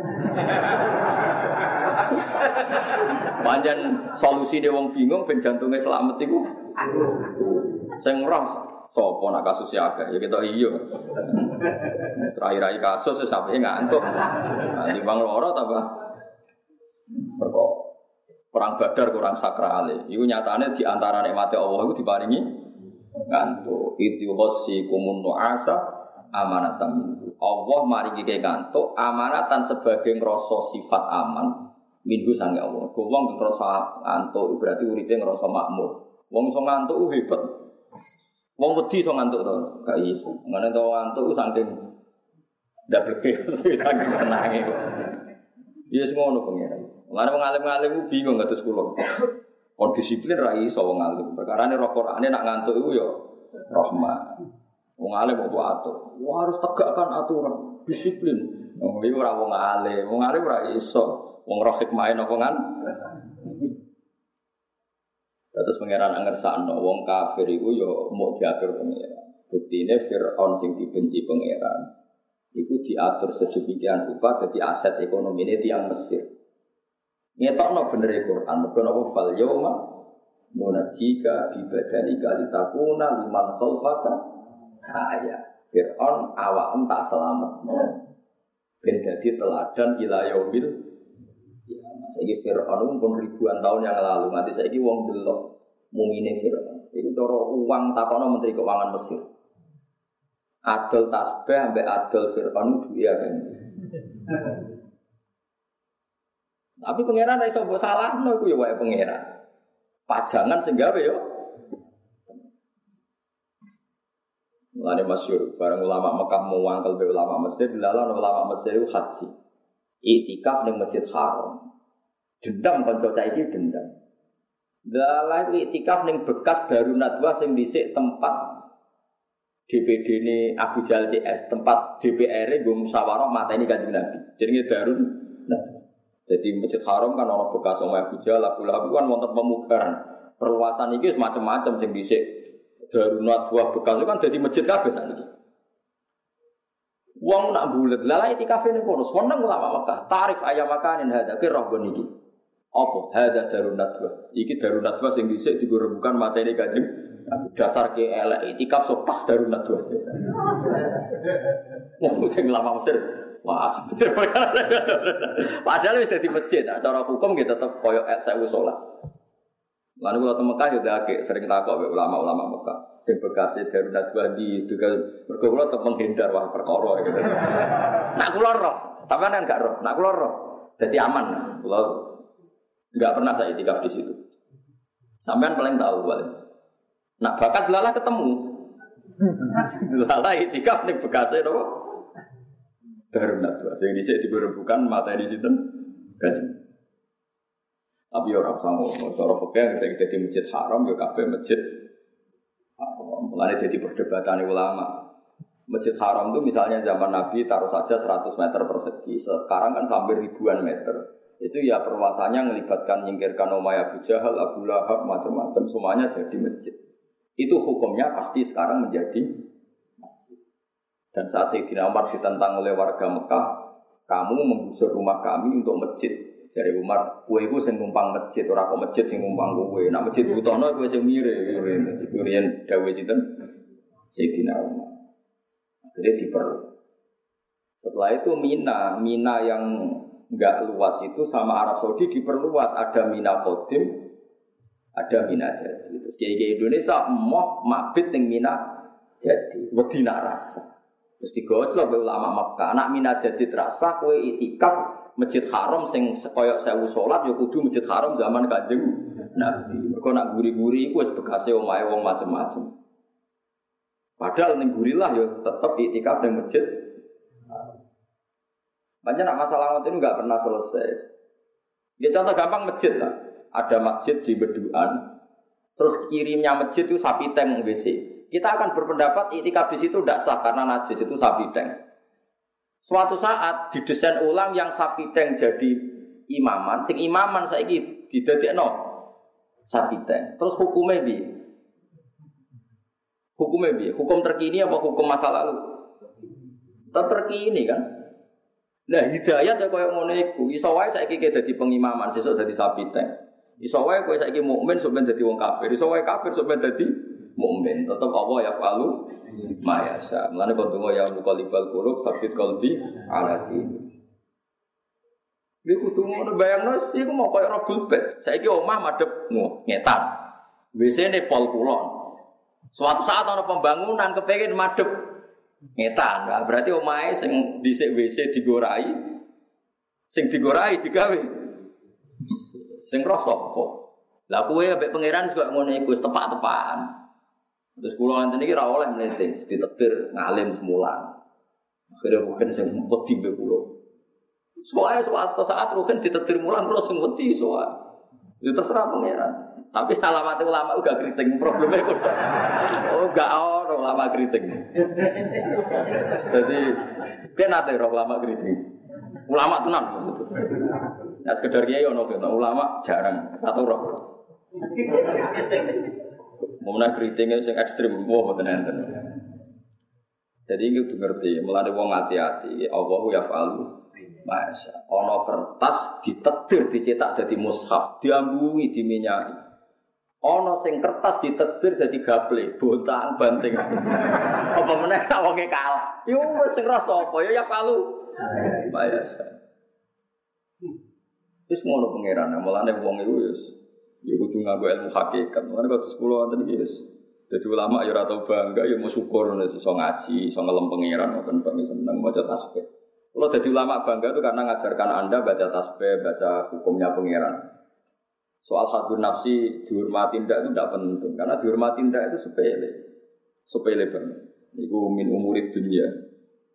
[SPEAKER 2] Panjen solusi dia wong bingung, ben jantungnya selamat iku. Sing roh sapa nak kasus akeh ya kita iya. Serai-rai kasus sampe ngantuk. Nanti bang loro tambah perkara. Perang Badar kurang sakral. Iku nyatane di antara nikmate Allah iku diparingi ngantuk. Itu wasiqumun nu'asa amanatan. Allah maringi ke ngantuk amanatan sebagai ngrasa sifat aman minggu sange Allah. Wong ngrasa ngantuk berarti uripe ngrasa makmur. Wong iso ngantuk hebat. Wong wedi iso ngantuk to, gak iso. Ngene to ngantuk saking ndak bleke saking tenange. Iya sing ngono pengen. Lan wong alim-alim bingung kados kula. Kon disiplin ra iso wong alim. Perkarane roh Qur'ane nak ngantuk iku ya rahmat. Wong alim kok atur. Wah harus tegakkan aturan, disiplin. Wong iki ora wong alim. Wong alim ora iso. Wong roh hikmahe napa kan? Terus pangeran ngersakno wong kafir iku ya mau diatur pangeran. Buktine Firaun sing dibenci pangeran iku diatur sedemikian rupa dadi aset ekonomine tiyang Mesir. Ngetokno bener Al-Qur'an, mergo napa fal yauma munajjika bi badanika litakuna liman khalfaka ayat. Fir'aun awakmu tak selametno ben dadi teladan ila yaumil qiyamah. Saiki Fir'aun pun ribuan tahun yang lalu, nganti saiki wong delok mumine Fir'aun. Iku cara uang takono menteri keuangan Mesir. Adol tasbih ambek adol Fir'aun duwe kan. Tapi pangeran ra iso mbok salahno iku ya wae pangeran. Pajangan sing gawe yo. Mulane masyhur bareng ulama Mekah muwangkel be ulama Mesir dilalah ulama Mesir itu haji. Iktikaf ning Masjid Haram. Dendam kanca cah iki dendam. Dalah iktikaf ning bekas Darun Nadwa sing dhisik tempat DPD ini Abu Jahal CS, tempat DPR nggo musyawarah mateni Kanjeng Nabi. Jenenge Darun Nadwa. Jadi Masjid Haram kan ana bekas omahe Abu Jahal, Abu Lahab kan wonten pemugaran. Perluasan iki wis macam-macam sing dhisik Darun Nadwa bekas itu kan dadi masjid kabeh sakniki. Wong nak bulet lha iktikaf ning kono, seneng ulama Mekah. Tarif ayam makanin hada ki roh gon iki. Apa? Hada Darun Nadwa. Iki Darun Nadwa sing dhisik digo rebukan materi Kanjeng dasar ke elek iktikaf so pas Darun Nadwa. Wong sing lama Mesir. Wah, sebenarnya padahal wis dadi masjid. Cara hukum nggih tetep koyo 1000 salat. Lalu kalau teng Mekah yo akeh sering takok ulama-ulama Mekah. Sing bekase Darun Nadwa di juga mergo kula tetep menghindar wah perkara gitu. Nak kula roh, sampean kan gak roh. Nak kula roh dadi aman. Kula enggak pernah saya iktikaf di situ. Sampean paling tahu paling. Nak bakat lala ketemu. Lala iktikaf ning bekase napa? Darun Nadwa. Sing dhisik diberebukan materi sinten? Kanjeng. Tapi orang sama, cara fikih sing dadi masjid haram ya kabeh masjid. Mulane jadi perdebatan ulama. Masjid haram itu misalnya zaman Nabi taruh saja 100 meter persegi. Sekarang kan sampai ribuan meter. Itu ya perluasannya melibatkan nyingkirkan Umayyah Abu Jahal, Abu Lahab, macam-macam semuanya jadi masjid. Itu hukumnya pasti sekarang menjadi masjid. Dan saat Sayyidina Umar ditentang oleh warga Mekah, kamu menggusur rumah kami untuk masjid. Dari Umar, kowe iku sing numpang masjid, ora kok masjid sing numpang kowe. Nek masjid butuhno kowe sing mire. Iku riyen dawuh sinten? Sayyidina Umar. Jadi diperlu. Setelah itu Mina yang enggak luas itu sama Arab Saudi diperluas. Ada Mina Qadim, ada Mina Jadi. Terus kiai Indonesia mau mabit ning Mina Jadi, wedi nak rasa. Terus digojlok be ulama Makkah, anak Mina Jadi terasa kowe itikaf Masjid Haram sing koyok 1000 salat ya kudu Masjid Haram zaman Kanjeng Nabi. Mergo nak guri-guri iku wis bekase omahe wong macam-macam. Padahal ning gurilah ya tetep iktikaf ning masjid. Banyak nak masalah ngoten enggak pernah selesai. Ya contoh gampang masjid lah. Ada masjid di Beduan. Terus kirimnya masjid itu sapi tank WC. Kita akan berpendapat iktikaf di situ tidak sah karena najis itu sapi tank. Suatu saat didesain ulang yang sapi tank jadi imaman, sing imaman saiki didadekno sapi tank. Terus hukumnya piye? Hukumnya piye? Hukum terkini apa hukum masa lalu? Terkini kan. Nah, hidayat ya koyo ngono iku. Iso wae saiki dadi pengimaman, sesuk dadi sapi tank. Iso wae kowe saiki mukmin sampeyan dadi wong kafir. Iso wae kafir sampeyan dadi mukmin. Tetep Allah ya falu mayasa. Mulane kok donga ya muqallibal qulub sabit qalbi ala dini. Iku kudu ngono bayangno iku mau koyo robul bet. Saiki omah madhep ngetan. WC-ne pol kulon. Suatu saat ana pembangunan kepengin madhep ngetan. Nah, berarti omahe sing dhisik WC digorai. Sing digorai digawe. Sing roh sapa? Lah kowe ambek pangeran juga ngono iku tepak-tepakan. Terus kula ngenten iki ora oleh mlete, ditetir ngalim semulan. Akhire mungkin sing wedi mbek kula. Suatu saat mungkin ditetir mulan kula sing wedi soal. Ya terserah pangeran. Tapi alamat ulama uga kriting probleme kok. Oh, gak ono ulama kriting. Jadi ben ate ulama kriting. Ulama tenan gitu. Nah, sekedar kiai ono ulama jarang atau roh. Memang kritingnya yang ekstrim, wah betul enten. Jadi ini udah ngerti, mulai wong hati-hati, Allahu ya falu, masya. Ono kertas ditetir, dicetak jadi mushaf, diambungi, diminyai. Ono sing kertas ditetir jadi gaple, bontang banting. Apa meneh wonge kalah? Yo wis sing rasa apa ya falu, masya. Wis ngono pangeran, mulane wong iku wis ya kudu nganggo ilmu hakikat. Mulane kok sekolah wonten iki wis dadi ulama ya ora tau bangga ya mau syukur iso ngaji, iso ngelem pangeran ngoten kok seneng maca tasbih. Kalau dadi ulama bangga itu karena ngajarkan Anda baca tasbih, baca hukumnya pangeran. Soal hadun nafsi dihormati ndak itu tidak penting karena dihormati ndak itu sepele. Sepele banget. Iku min umurid dunia.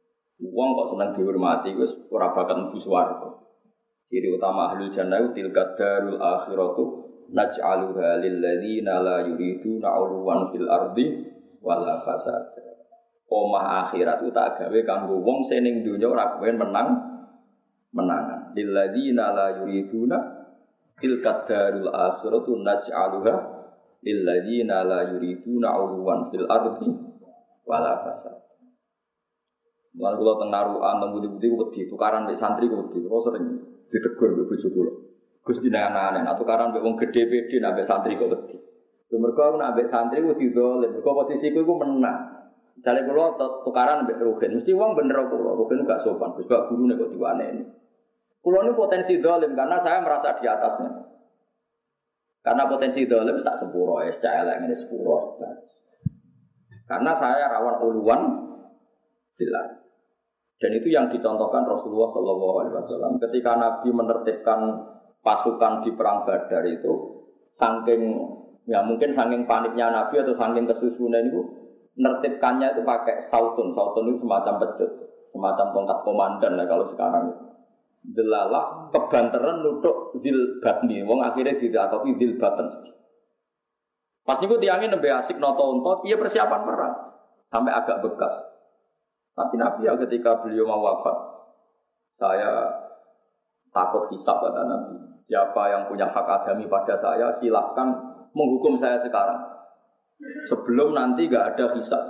[SPEAKER 2] Wong kok seneng dihormati wis ora bakal mlebu swarga. Ciri utama ahlul jannah tilka darul akhiratu naj'aluha lil ladzina la yuriduna 'uluwan fil ardi wala fasad. Omah akhirat itu tak gawe kanggo wong sing ning donya ora kepen menangan. Lil ladzina la yuriduna tilka darul akhiratu naj'aluha lil ladzina la yuriduna 'uluwan fil ardi wala fasad. Mulane kula teng narukan teng budi-budi wedi tukaran mek santri wedi. Kula sering ditegur mbek bojo kula. Gus dinane-ane nek tukaran mbek wong gedhe-gedhe nek mbek santri kok wedi. Mergo aku nek mbek santri wedi dolen, mergo posisiku iku menang. Jare kula tukaran mbek Ruhin, mesti wong bener kula, Ruhin gak sopan, Gus gak gurune kok diwaneni. Kula ini potensi dolim karena saya merasa di atasnya. Karena potensi dolim tak sepuro, cah elek ngene sepuro. Karena saya rawan uluwan bilang. Dan itu yang dicontohkan Rasulullah SAW ketika Nabi menertibkan pasukan di perang Badar itu, saking ya mungkin saking paniknya Nabi atau saking kesusunan itu, menertibkannya itu pakai sautun. Sautun itu semacam pecut, semacam tongkat komandan lah kalau sekarang itu. Delalah kebanteran nutuk zil batni, wong akhirnya tidak tapi zil baten. Pas niku tiangin nembe asik noto-onto, dia persiapan perang sampai agak bekas. Tapi Nabi ya ketika beliau mau wafat, saya takut hisab kata Nabi. Siapa yang punya hak adami pada saya, silahkan menghukum saya sekarang. Sebelum nanti enggak ada hisab.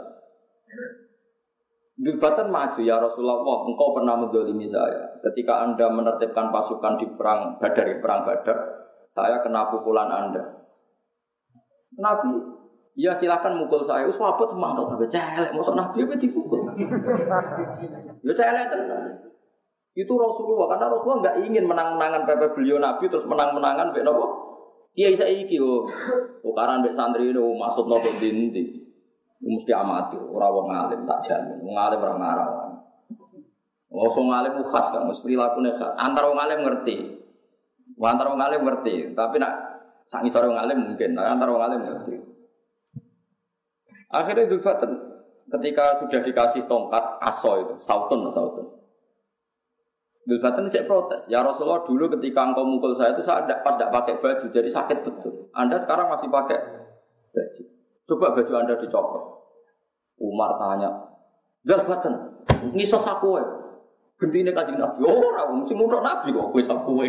[SPEAKER 2] Dibatan maju ya Rasulullah, engkau pernah mendolimi saya. Ketika Anda menertibkan pasukan di perang Badar, saya kena pukulan Anda. Nabi, ya silakan mukul saya. Sahabat mangkel kabeh celek, mosok Nabi apa dipukul. Ya celek tenan. Itu Rasulullah, karena Rasulullah enggak ingin menang-menangan pepe beliau Nabi terus menang-menangan mbek napa? Kiai saiki yo. Tukaran mbek santri itu maksud nopo dinti. Mesti amatir, ora wong alim tak jamin. Wong alim ora ngarang. Wong alim khas kan, mesti prilakune khas. Antara wong alim ngerti. Antara wong alim ngerti, tapi nak sak ngisor wong alim mungkin, antara wong alim ngerti. Akhirnya Dzul Fatan ketika sudah dikasih tongkat aso itu, sautun. Dzul Fatan cek protes. Ya Rasulullah, dulu ketika engkau mukul saya itu saya pas tidak pakai baju, jadi sakit betul. Anda sekarang masih pakai baju. Coba baju Anda dicopot. Umar tanya, Dzul Fatan, ngisos aku wae. Gentine Kanjeng Nabi, ora mesti nutuk Nabi kok kowe sak kowe.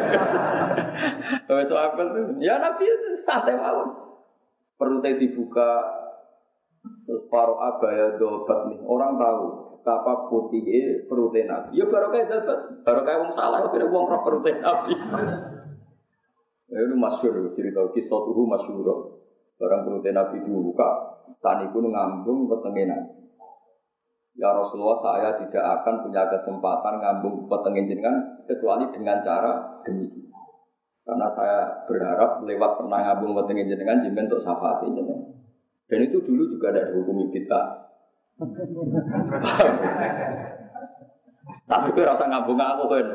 [SPEAKER 2] Wes apa tuh? Ya Nabi santai mawon. Perutnya dibuka terus faro abaya dobat nih. Orang tahu betapa putihnya perutnya Nabi. Ya baru kayak dapat, baru kayak wong salah kira wong roh perutnya Nabi. Itu masyhur cerita kisah tuh masyhur. Orang perutnya Nabi dibuka, tani pun ngambung petenge Nabi. Ya Rasulullah, saya tidak akan punya kesempatan ngambung petenge jenengan kecuali dengan cara demikian. Karena saya berharap lewat pernah ngambung petenge jenengan jenengan untuk syafaat jenengan. Dan itu dulu juga ada dihukumi bid'ah. Tapi kowe ora usah ngambung aku kan.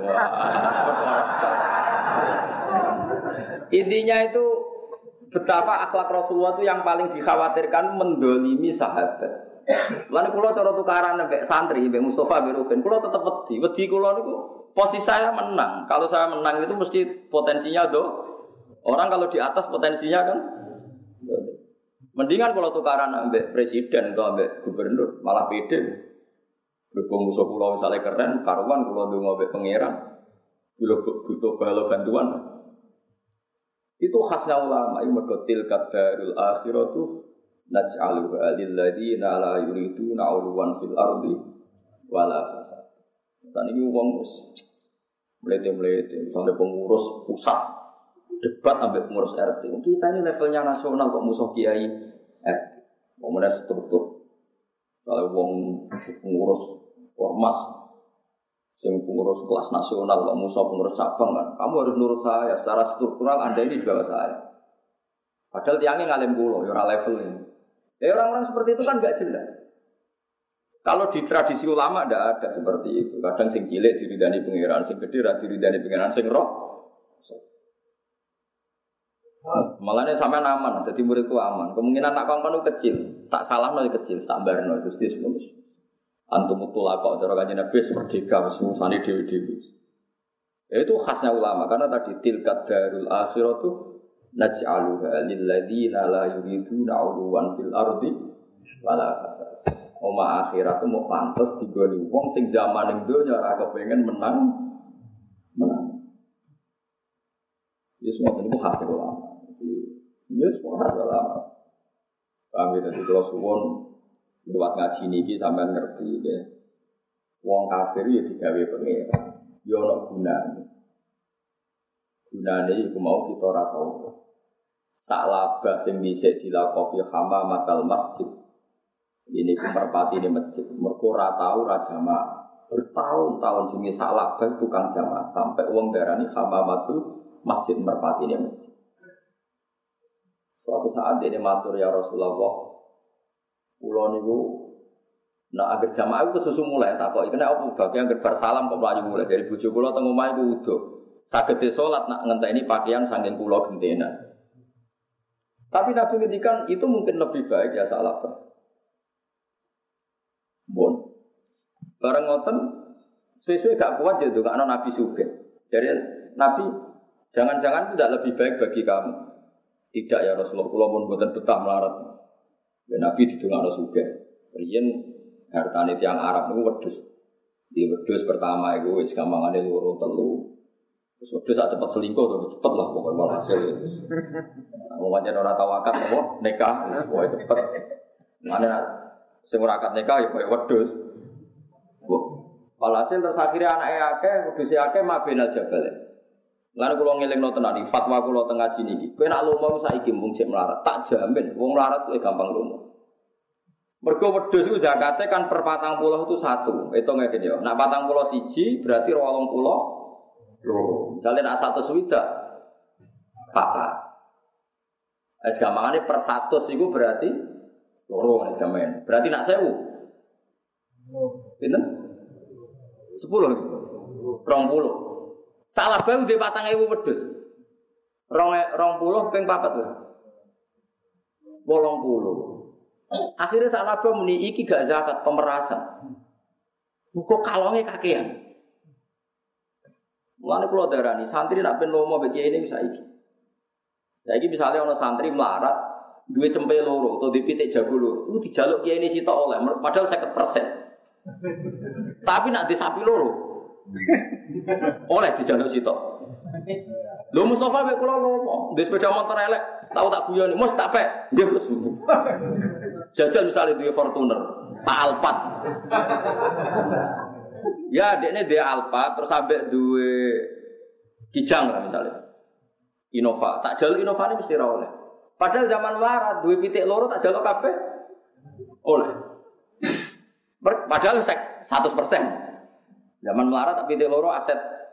[SPEAKER 2] Intinya itu betapa akhlak Rasulullah itu yang paling dikhawatirkan mendolimi sahabat. Lalu kalau cara tukaran mbek santri, mbek Mustafa, mbek Ruben, kalau tetap wedi kalau niku posisi saya menang. Kalau saya menang itu mesti potensinya orang kalau di atas potensinya kan. Mendingan kalau tukaran mbek presiden atau mbek gubernur malah pede. Berhubung musuh pulau misalnya keren, karuan kalau ndonga mbek pangeran, butuh bala bantuan. Itu khasnya ulama, itu mergotil kadarul akhiratu naj'aluha lil ladzina la yuriduna 'uluwan fil ardi wala fasad. Saat ini wong melete-melete sampai pengurus pusat debat ambek pengurus RT. Kita ini levelnya nasional kok musuh kiai RT. Kemudian struktur. Kalau wong pengurus ormas sing pengurus kelas nasional kok musuh pengurus cabang kan. Kamu harus nurut saya secara struktural, Anda ini juga saya. Padahal tiangnya ngalim kula ya ora level ini. Orang-orang seperti itu kan enggak jelas. Kalau di tradisi ulama enggak ada seperti itu. Kadang sing cilik diridani pangeran, sing gedhe ra diridani pangeran, sing roh. Malahnya sampean aman, dadi muridku aman. Kemungkinan tak kongkon kecil, tak salahno kecil, tak barno Gusti semono. Antum mutlaqa cara kanjeng Nabi merdeka wis ngusani dhewe-dhewe. Itu khasnya ulama karena tadi tilkat darul akhiratu naj'aluha lil ladzina la yuriduna 'uluwan fil ardi wala fasad. Oma akhirat itu mau pantes digoni wong sing zaman ning donya ora kepengin menang. Ya semua itu khasnya ulama. Ya semua khas ulama. Kami tadi kalau suwon lewat ngaji niki sampean ngerti ya. Wong kafir ya digawe pengira. Ya ana gunane. Gunane iku mau kita ora tau. Sak labah sing dhisik dilakopi hamamatal masjid. Ini ku merpati di masjid. Mergo ora tau ra jamaah. Bertahun-tahun jenenge sak labah tukang jamaah sampai wong darani hamamatul masjid merpati di masjid. Suatu saat dia matur ya Rasulullah. Kula niku nek agar jamaah iku kesusu mulai takoki kena apa bagian agar bar salam kok mlayu mulai dari bojo kula teng omah iku udo. Saged salat nak ngenteni pakaian saking kula gentena. Tapi Nabi ngendikan itu mungkin lebih baik ya salah. Bon. Bareng ngoten suwe-suwe gak kuat ya ndongakno Nabi sugih. Jadi Nabi jangan-jangan tidak lebih baik bagi kamu. Tidak ya Rasulullah, kula pun mboten betah melarat. Ya Nabi didongakno sugih. Riyen hartane tiyang Arab niku wedhus. Di wedhus pertama iku wis gampangane loro telu. Wis wedhus sak cepet selingkuh to cepet lah pokoke walhasil. Wong pancen ora tau akad apa nikah wis pokoke cepet. Mane sing ora akad nikah ya koyo wedhus. Walhasil terus akhire anake akeh, wedhuse akeh mabenal jabal. Lan kula ngelingno tenan iki fatwa kula teng ngaji niki. Kowe nek lomo saiki mung cek melarat, tak jamin wong melarat kuwi gampang lomo. Mergo wedhus iku zakate kan per 40 itu 1. Hitung ngene ya. Nek 41 berarti 20 loro. Misale nek 100 swidak papat. Es gampangane per 100 iku berarti loro nek gamen. Berarti nek 1000. Pinten? 10. 20. Salah bae ndek 4000 wedhus. 20 ping 4 lho. 80. Akhirnya salah bae muni iki gak zakat pemerasan. Kok kalonge kakean. Mulane kula darani santri nek ben lomo mbek kiai ini saiki. Saiki misale ana santri melarat duwe cempe loro utawa dipitik jago loro, iku dijaluk kiai ini sitok oleh padahal 50%. Tapi nek di sapi loro oleh dijaluk sitok. Lho Mustofa mek kula lomo, ndek sepeda motor elek, tau tak guyoni, "Mus tak pek." Nggih terus. Jajal misalnya duwe Fortuner, Pak Alphard. Ya, dekne duwe Alphard terus ambek duwe Kijang lah misalnya. Innova, tak jaluk Innovane mesti ra oleh. Padahal zaman melarat duwe pitik loro tak jaluk kabeh oleh. Padahal 100%. Zaman melarat tapi pitik loro aset.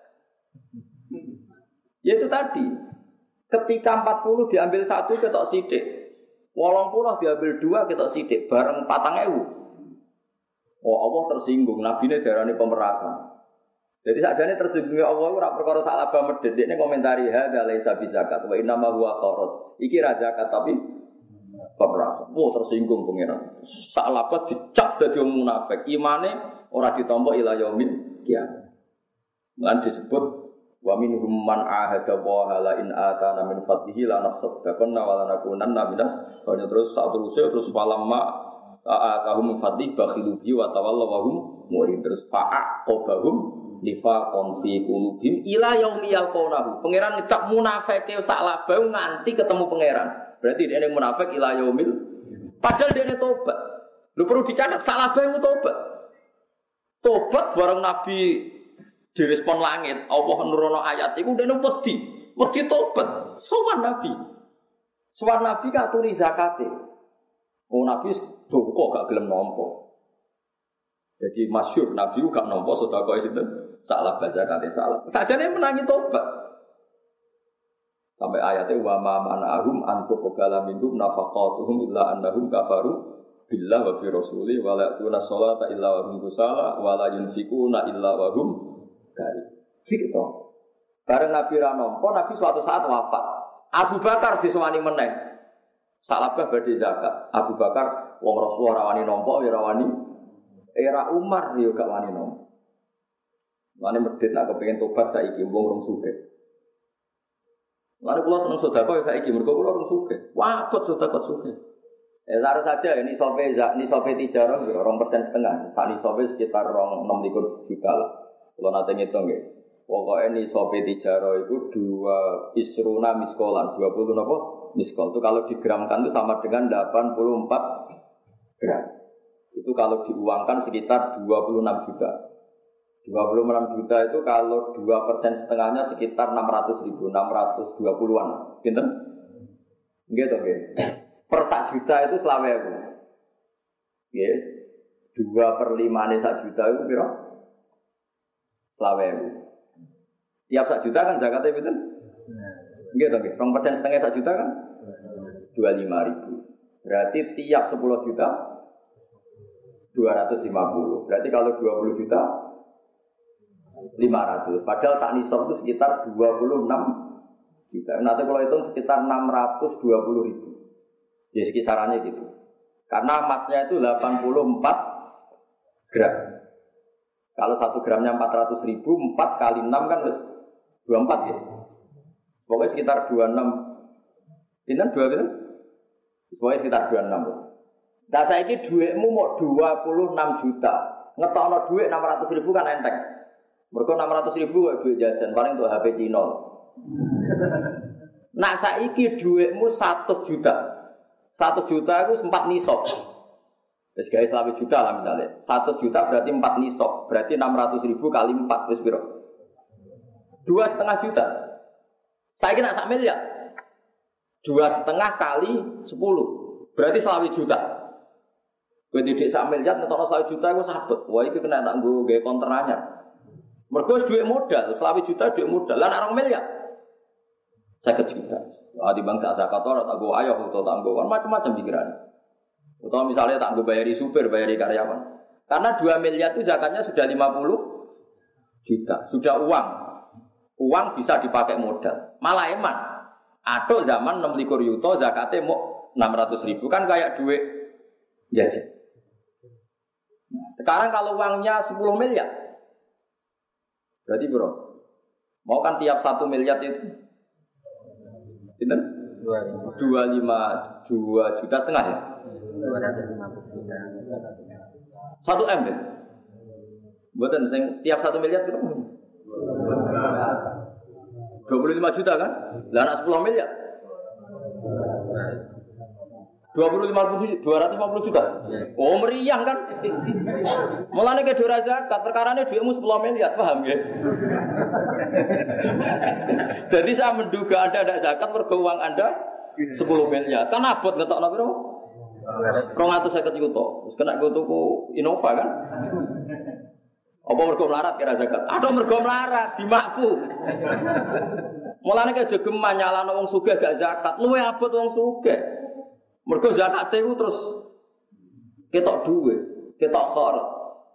[SPEAKER 2] Ya itu tadi. Ketika 40 diambil 1 ketok sithik. 80 diambil 2 ketok sithik bareng 4000. Oh Allah tersinggung, nabine darani pemerasan. Jadi sakjane tersinggung Allah ora perkara sak laba medhit. Dekne komentari hadza laisa bizakat wa inna ma huwa qarat. Iki ra zakat tapi pemerasan. Oh tersinggung pangeran. Sak laba dicap dadi wong munafik. Imane ora ditampa ila yaumil qiyamah. Lan disebut wa minhum man ahada wa la in atana min fadlihi la nasaddaqanna wa la nakunanna minas. Terus terus falamma atahum fadlih bakhilu bi wa tawallaw wa hum murid. Terus fa'aqabahum nifaqon fi qulubihim ila yaumi yalqawnahu. Pangeran ngecap munafike sak labau nganti ketemu pangeran. Berarti dia munafik ila yaumil. Padahal dia tobat. Lu perlu dicatat sak labau tobat. Tobat bareng Nabi direspon langit, Allah nurono ayat iku dene wedi tobat. Sowan Nabi. Sowan Nabi katuri zakate. Oh Nabi kok gak gelem nampa. Jadi masyhur Nabi gak nampa sedekah sinten? Salah zakate salah. Sajane menangi tobat. Sampai ayatnya wa ma mana'ahum antu qabala minhum nafaqatuhum illa annahum kafaru billah wa bi rasuli wa la ya'tuna sholata illa wa hum kusala wa la yunfikuna illa wa hum kari. Gitu. Bareng Nabi ra nampa, Nabi suatu saat wafat. Abu Bakar disewani meneh. Salabah badhe zakat. Abu Bakar wong Rasulullah rawani nampa ya rawani Era Umar yo gak wani nom. Wani medhit nak kepengin tobat saiki wong rong sugih. Lalu kula seneng sedekah saiki mergo kula rong sugih. Wah, kok sedekah sugih. Taruh saja ini sope tijarah 2,5%. Saat ini sope sekitar 6 juta lah. Kalau nanti ngitung ya. Pokoknya ini sope tijarah itu 2 isruna miskolan. 20 apa? Miskol itu kalau digramkan itu sama dengan 84 gram. Itu kalau diuangkan sekitar 26 juta. 26 juta itu kalau 2% setengahnya sekitar 600.000, 620-an. Pinter? Gitu, oke. Per 1 juta itu selawe aku. Ya. 2/5 ane 1 juta itu kira selawe aku. Tiap 1 juta kan zakatnya pinter? Gitu, oke. 2% setengah 1 juta kan? 25.000. Berarti tiap 10 juta 250. Berarti kalau 20 juta 500. Padahal saat nisab itu sekitar 26 juta. Nanti kalau hitung sekitar 620.000. Ya sekisarannya gitu. Karena emasnya itu 84 gram. Kalau 1 gramnya 400.000, 4 kali 6 kan harus 24 ya. Pokoknya sekitar 26. Ini 2 gitu. Pokoknya sekitar 26. Nah saya ini duitmu mau 26 juta. Ngetokno duit 600.000 kan enteng. Mereka 600.000 kok duit jajan paling untuk HP Cino. Nak saiki duitmu 100 juta. 1 juta itu 4 nisab. Wis gawe 1 juta lah misalnya. 1 juta berarti 4 nisab. Berarti 600.000 kali 4 wis piro? 2,5 juta. Saiki nak 1 miliar. 2,5 kali 10. Berarti 1 juta. Kowe didik 1 miliar ngetokno 1 juta iku sabet. Wah iki kena tak nggo gawe konter anyar. Mergo duit modal, 1 juta duit modal. Lah nek 2 miliar 50 juta. Ah di bank tak zakat ora tak go ayo utawa tak go macam-macam pikiran. Utawa misalnya tak go bayari supir, bayari karyawan. Karena 2 miliar itu zakatnya sudah 50 juta, sudah uang. Uang bisa dipakai modal. Malah eman. Atuk zaman 26 yuta zakatnya mau 600.000 kan kayak duit jajan. Nah, sekarang kalau uangnya 10 miliar. Berarti bro, mau kan tiap 1 miliar itu Itu 2 juta setengah ya?
[SPEAKER 3] 250 juta.
[SPEAKER 2] 1 M ya? Buatan setiap 1 miliar berapa? 25 juta kan? Lah anak 10 miliar? 250 juta? Oh meriang kan? Mulanya ke dora zakat, perkaranya duitmu 10 miliar, paham ya? Jadi saya menduga Anda ada zakat, mergo uang Anda 10 miliar. Kan abot ngetokno piro? 250 juta. Wis kena go tuku Innova kan? Apa mergo melarat kira zakat? Aduh mergo melarat, dimakfu. Mulanya ke jogeman nyalano wong sugih gak zakat, luwe abot wong sugih. Mergo zakate iku terus ketok duit, ketok kharat.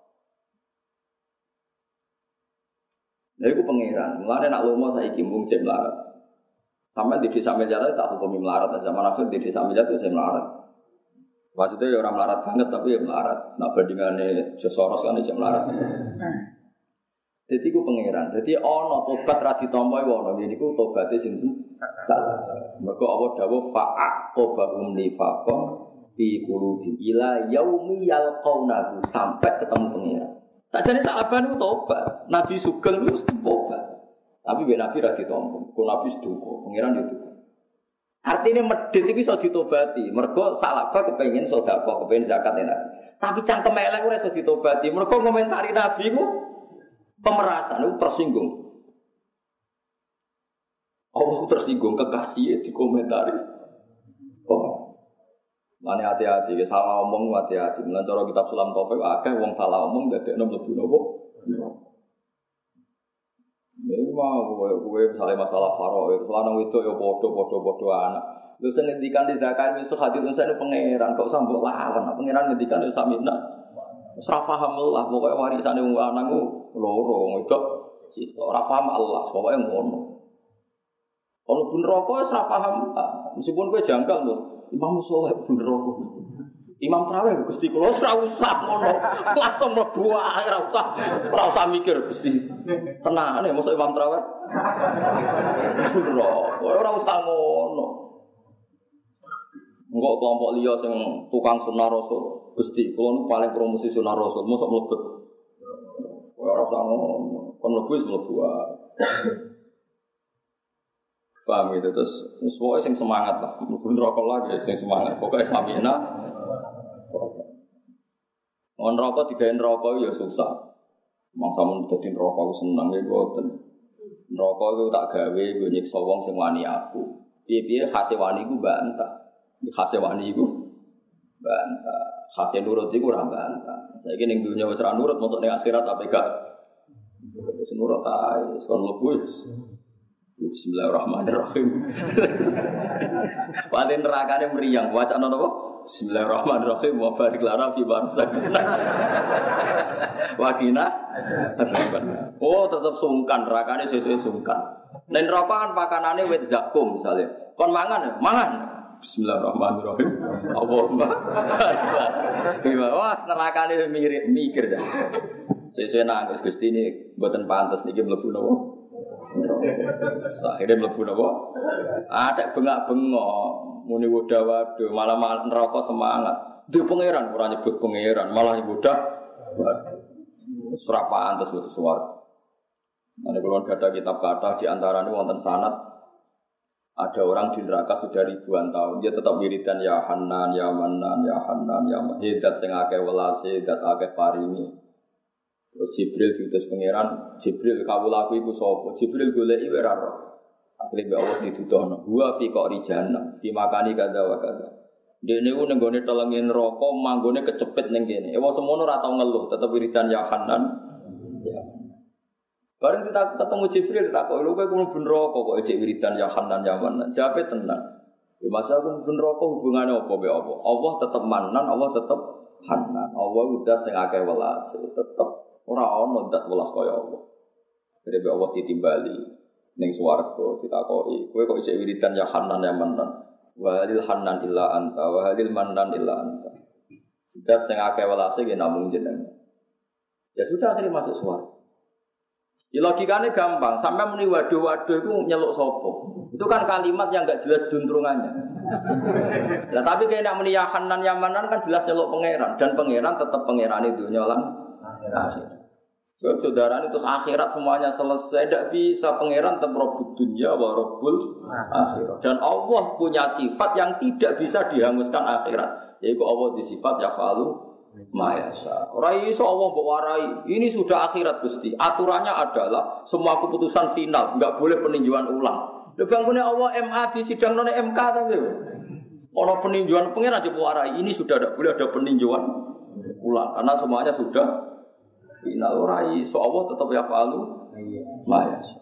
[SPEAKER 2] Lha iku pangeran. Mulane nak lomo saiki mung cek melarat. Sampai di desa miliar tak hukumi melarat, zaman akhir di desa miliar itu saya melarat. Maksudnya ya orang melarat banget tapi ya melarat. Nah bandingannya Soros kan ya melarat. Jadi ku pangeran. Jadi ono tobat ra ditampa iku ono. Niku tobate sinten? Salah. Mergo Allah dawuh fa'aqobahum nifaqan fi qulubihim ila yaumi yalqaunahu sampai ketemu pangeran. Sajane sahabat itu tobat. Nabi Sugeng itu tobat. Tapi ben Nabi ra ditampa. Kok Nabi seduka, pangeran yo tobat. Artine medhit iki iso ditobati. Mergo sahabat kepengin sedekah, kepengin zakat enak. Tapi cangkem elek ora iso ditobati. Mergo komentari Nabi ku pemerasan itu tersinggung. Allah tersinggung kekasihnya dikomentari. Mane hati-hati, salah omong hati-hati. Mulane cara kitab Sulam Taufik akeh wong salah omong dadekno mlebu napa? Ini mau kowe misalnya masalah faraid, lanang wedok ya padha-padha anak. Lho sing ngendikan di zakat wis hadis unsane pangeran, kok usah mbok lawan. Pangeran ngendikan ya samina. Wis ra paham lah pokoke warisane wong lanang ku loro wedok cita. Ora paham Allah, pokoke ngono. Kalau pun rokok, saya paham. Meskipun gue janggal loh. Imam Soleh pun rokok. Imam tarawih Gusti kula ora usah ngono. Langsung mlebu ora usah mikir Gusti. Tenane mosok imam tarawih. Ora usah ngono. Engko kelompok liya sing tukang sunah rasul. Gusti kula nu paling promosi sunah rasul mosok mlebet. Ora usah ngono. Kon mlebu wis mlebu wae. Paham itu terus semua sing semangat lah. Mlebu neraka lagi sing semangat. Pokoke samina. On rokok digawe neraka ya susah. Mangsa mun dadi neraka ku seneng ya mboten. Neraka ku tak gawe nggo nyiksa wong sing wani aku. Piye-piye khase wani ku bantah. Khase wani ku bantah. Khase nurut iku ora bantah. Saiki ning dunya wis ora nurut mosok ning akhirat apa gak? Wis nurut ae, kon mlebu wis. Bismillahirrahmanirrahim. Wate nerakane mriyang, wacana napa? Bismillahirrahmanirrahim wa barik lana fi barzakh. Wakina. Oh, tetep sungkan, nerakane sesuk sungkan. Nek neraka kan pakanane wit zakum misale. Kon mangan, mangan. Bismillahirrahmanirrahim. Allahumma barik. Wah, nerakane mikir dah. Sesuk nangis Gusti ini mboten pantes niki mlebu napa? Akhirnya mlebu napa? Ada bengak-bengok. Muni wadah-wadah malah neraka semangat. Di pangeran ora nyebut pangeran, malah nyebut ora pantes wis suwarga. Nek kula gadah kitab kathah di antarane wonten sanad ada orang di neraka sudah ribuan tahun dia tetap wiridan ya Hanan ya Manan ya Hanan ya Mahidat sing akeh welase dat akeh paringi. Jibril diutus pangeran, Jibril kawulaku iku sapa? Jibril goleki ora ora. Akhire Allah dituduhno, "Wa fi qari jahannam, fi makani kadza wa kadza." Dene ku nenggone telenge neraka, manggone kecepit ning kene. Wong semono ora tau ngeluh, tetep wiridan ya Hanan. Ya. Bareng kita ketemu Jibril takok, "Lho kowe mlebu neraka kok ejek wiridan ya Hanan ya Manan?" Jawabe tenang. Ya masa aku mlebu neraka hubungane apa be apa? Allah tetep Manan, Allah tetep Hanan. Allah udah sing akeh welase, tetep ora ono zat welas kaya Allah. Dene Allah ditimbali ning swarga ditakoki, kowe kok isih wiridan ya Hanan ya Manan? Wa halil Hanan illa anta, wa halil Manan illa anta. Zat sing akeh welase ki namung jenengan. Ya sudah akhirnya masuk swarga. Ya logikane gampang, sampai muni waduh-waduh iku nyeluk sapa? Itu kan kalimat yang enggak jelas duntrungannya. Lah tapi kene nek muni ya Hanan ya Manan kan jelas nyeluk pangeran dan pangeran tetap pangerane dunya lan akhirat. Saudara itu akhirat semuanya selesai, tidak bisa pangeran tetap Rabbud dunya wa Rabbul akhirat. Dan Allah punya sifat yang tidak bisa dihanguskan akhirat, yaitu Allah di sifat yafalu ma yasha. Ora iso Allah mbok warai. Ini sudah akhirat Gusti. Aturannya adalah semua keputusan final, enggak boleh peninjauan ulang. Lha bangkune Allah MA di sidang none MK ta lho. Ono peninjauan pangeran aja warai. Ini sudah tidak boleh ada peninjauan ulang karena semuanya sudah final. Ora iso Allah tetap ya falu ma yasha.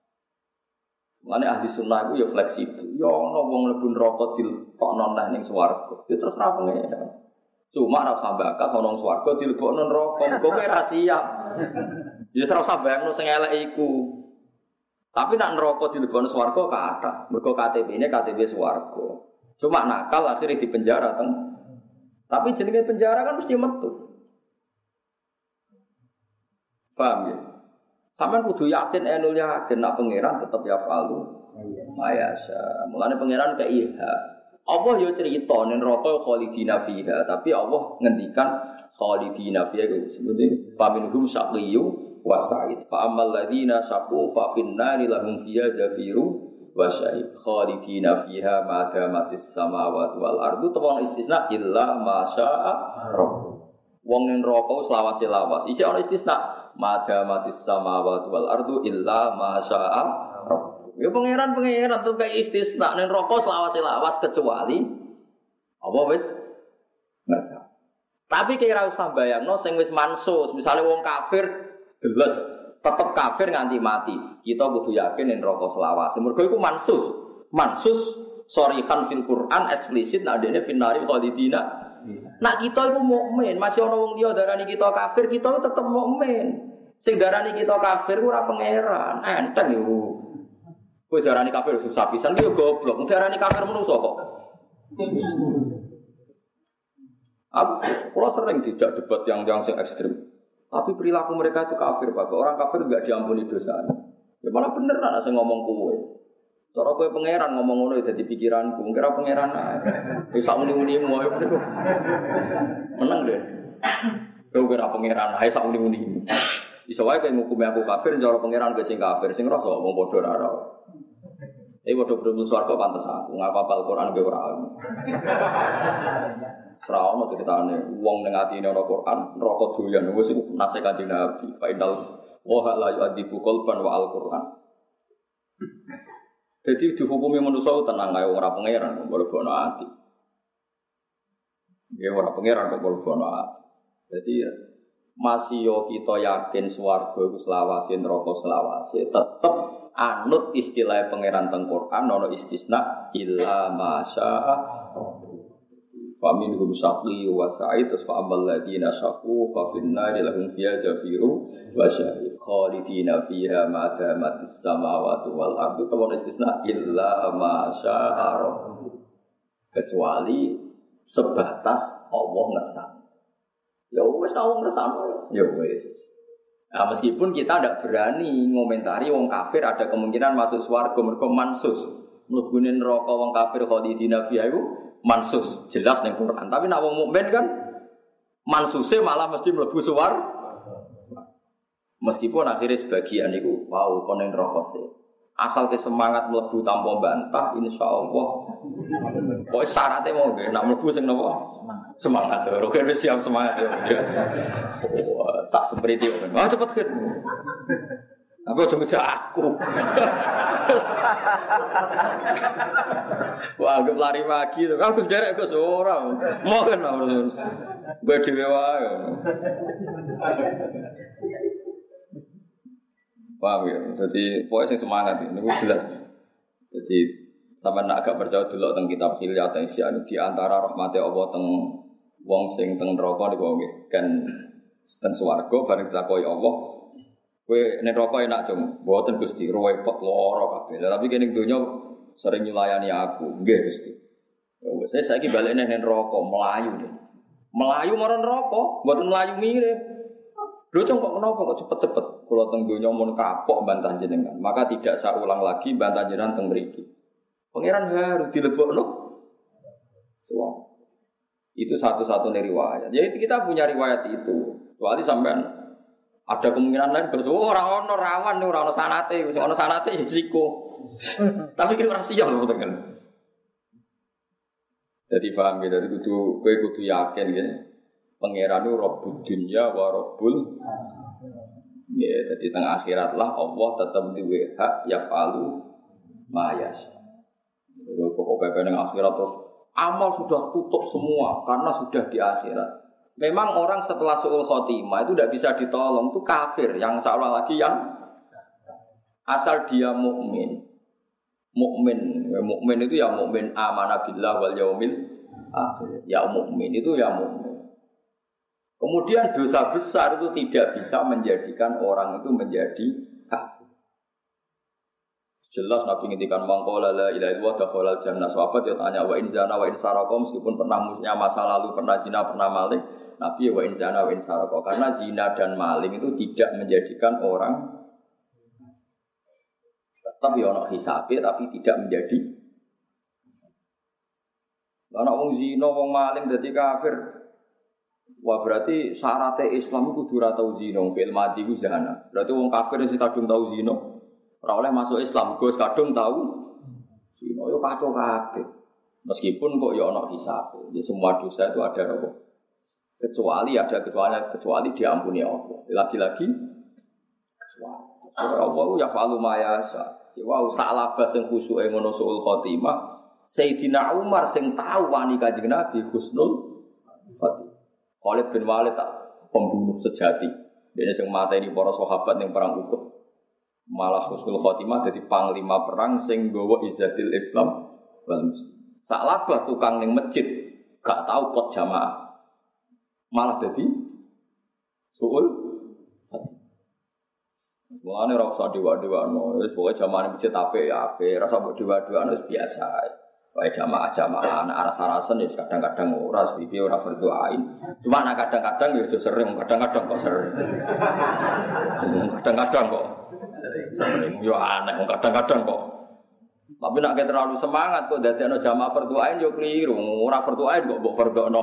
[SPEAKER 2] Mane ahli sunnah iku ya fleksibel. Ya ana wong mlebu neraka dilebokno nang ning swarga. Ya terserah pangeran. Cuma ora usah bakas ana ning swarga dilebokno neraka. Kok kowe ra siap. Ya ora usah bayangno sing elek iku. Tapi nek neraka dilebokno swarga kathah. Mergo KTP-ne KTP swarga. Cuma nakal akhirnya di penjara teng. Tapi jenenge penjara kan mesti metu. Paham ya? Sampeyan kudu yakin enul yakin nak pangeran tetep ya falu. Mayasa. Mulane pangeran ke iha. Allah yo cerita ning neraka khalidina fiha, tapi Allah ngendikan khalidina fiha itu sebenarnya faminhum syaqiyyu wa sa'id. Fa ammal ladzina syaqu fa finnari lahum fiha zafiru wa syahid. Khalidina fiha ma damatis samawati wal ardu tawang istisna illa ma syaa rabb. Wong ning neraka selawase-lawas. Iki ana istisna madamatis samawati wal ardu illa ma syaa rabb. Ya pangeran tuh kayak istisna ning neraka selawase-lawas kecuali apa wis ngersa. Tapi kira usah bayangno sing wis mansus, misale wong kafir deles tetep kafir nganti mati. Kita kudu yakin ning neraka selawase. Mergo iku mansus. Mansus sorihan fil Quran eksplisit nek dene finari khalidina. Nak kita itu mukmin, masih ana wong liya darani kita kafir, kita tetep mukmin. Sing darani kita kafir ora pangeran, enteng yo. Kowe darani kafir susah pisan yo goblok, darani kafir menungso kok. Kalau sering tidak debat yang sing ekstrim. Tapi perilaku mereka itu kafir, Pak. Orang kafir enggak diampuni dosanya. Ya malah bener lah saya ngomong kowe. Cara kowe pangeran ngomong ngono dadi pikiranku. Kira pangeran ae. Wis sak muni-munimu ae bener. Menang deh. Kowe kira pangeran ae sak muni-munimu. Iso wae kowe ngukumi aku kafir, cara pangeran kowe sing kafir, sing rasa wong padha ora ora. Padha berembus swarga pantes aku ngapal Al-Qur'an kowe ora. Seraono ceritane wong ning atine ana Qur'an neraka doyan wis nase Kanjeng Nabi faidal wa la yu'adibu qalban wa al-Qur'an. Jadi dihukumi manusia tenang ae ora pangeran kok mlebu ati. Ya ora pangeran kok mlebu ati. Jadi masih yo kita yakin swarga iku selawase neraka selawase tetep anut istilah pangeran teng Quran ana istisna illa masya'a faminhum syaqi wa sa'id fa amal ladina syaqu fa finnari lahum fiha zafiru wa syahid khalidina fiha ma damatis samawati wal ardu wa istisna illa masya'a kecuali sebatas Allah ngersani. Ya wis tau ngersani ya wis. Nah, meskipun kita tidak berani ngomentari wong kafir ada kemungkinan masuk swarga mergo mansus. Mlebune neraka wong kafir khalidina fiha iku mansus, jelas ning Quran. Tapi nek wong mukmin kan mansuse malah mesti mlebu swarga. Meskipun akhirnya sebagian iku wow kon ning neraka sih. Asal ke semangat mlebu tanpa bantah insyaallah. Pokoke syaratnya mau nggih nek mlebu sing napa? Semangat. Oke wis siap semangat ya. Tak seperti itu. Ah cepet kan. Tapi aja ngejak aku. Wah, anggap lari pagi to. Aku derek kok ora. Mau kan harus. Gue dhewe wae. Paham ya? Jadi pokoknya sing semangat ini jelas. Jadi sampean nak agak percaya delok teng kitab Hilyah teng di antara rahmate Allah teng wong sing teng neraka niku nggih kan teng swarga bareng ditakoki Allah. Kowe nek neraka enak cung, mboten Gusti, repot lara kabeh. Tapi kene donya sering nyulayani aku. Nggih Gusti. Ya wis saya saiki balik nang neraka melayu deh. Melayu marang neraka, mboten melayu mirip. Lho cung kok kenapa kok cepet-cepet kula teng donya mun kapok bantah jenengan. Maka tidak saya ulang lagi bantah jenengan teng mriki. Pangeran harus dilebokno. Soal. Itu satu-satunya riwayat. Jadi kita punya riwayat itu. Kecuali sampean ada kemungkinan lain betul orang ono rawan nih orang ono sanate, sing ono sanate risiko. Tapi kita rahasia loh betul kan. Jadi paham gitu. Jadi kudu yakin gitu. Pangeran itu Rabbud dunya wa Rabbul. Ya, jadi tengah akhirat lah Allah tetap duwe hak yaf'alu ma yasha. Pokoknya ning akhirat terus amal sudah tutup semua karena sudah di akhirat. Memang orang setelah su'ul khotimah itu tidak bisa ditolong, itu kafir. Yang seolah lagi yang asal dia mukmin. Mukmin itu ya mukmin amanah billah wal yaumil akhir. Ya mukmin itu ya mukmin. Kemudian dosa besar itu tidak bisa menjadikan orang itu menjadi kafir. Jelas Nabi ngintikan mangkola la ilaha illallah dakhalal jannah. Sahabat dia tanya wa in zana wa in saraka, meskipun pernah punya masa lalu, pernah zina, pernah maling, Nabi wa in zana wa in saraka, karena zina dan maling itu tidak menjadikan orang tetap ya ono hisabe tapi tidak menjadi. Ana wong zina, wong maling dadi kafir. Wah berarti syaratnya Islam itu kudu ora tau zina, fil mati ku zina. Berarti wong kafir sing kadung tau zina ora oleh masuk Islam, Gus kadung tahu zina yo kacau kabeh. Meskipun kok ya ana hisab. Di semua dosa itu ada apa? Kecuali diampuni Allah. Lagi-lagi kecuali. Allah ya fa'alu ma yasha. Wa salaba sing khusuke ngono suul khotimah. Sayyidina Umar sing tahu wani Kanjeng Nabi husnul khotimah. Khalid bin Walid tak pembunuh sejati. Dia sing mateni para sahabat ning perang Uhud. Malah husnul khotimah dadi panglima perang sing nggawa izzatil Islam wal muslim. Salabah tukang ning masjid gak tahu pot jamaah. Malah dadi suul. Mulane ora usah dewa-dewano, wis pokoke jamaah masjid apik ya apik, ora usah dewa-dewano wis biasa ae. Wae jamaah-jamaah anak aras-arasen ya kadang-kadang ora pipi ora berdoain. Cuma anak kadang-kadang ya sering, kadang-kadang kok sering. Kadang-kadang kok sering. Yo aneh kadang-kadang kok. Tapi nek terlalu semangat kok dadekno jamaah berdoain yo keliru. Ora berdoain kok mbok berdono.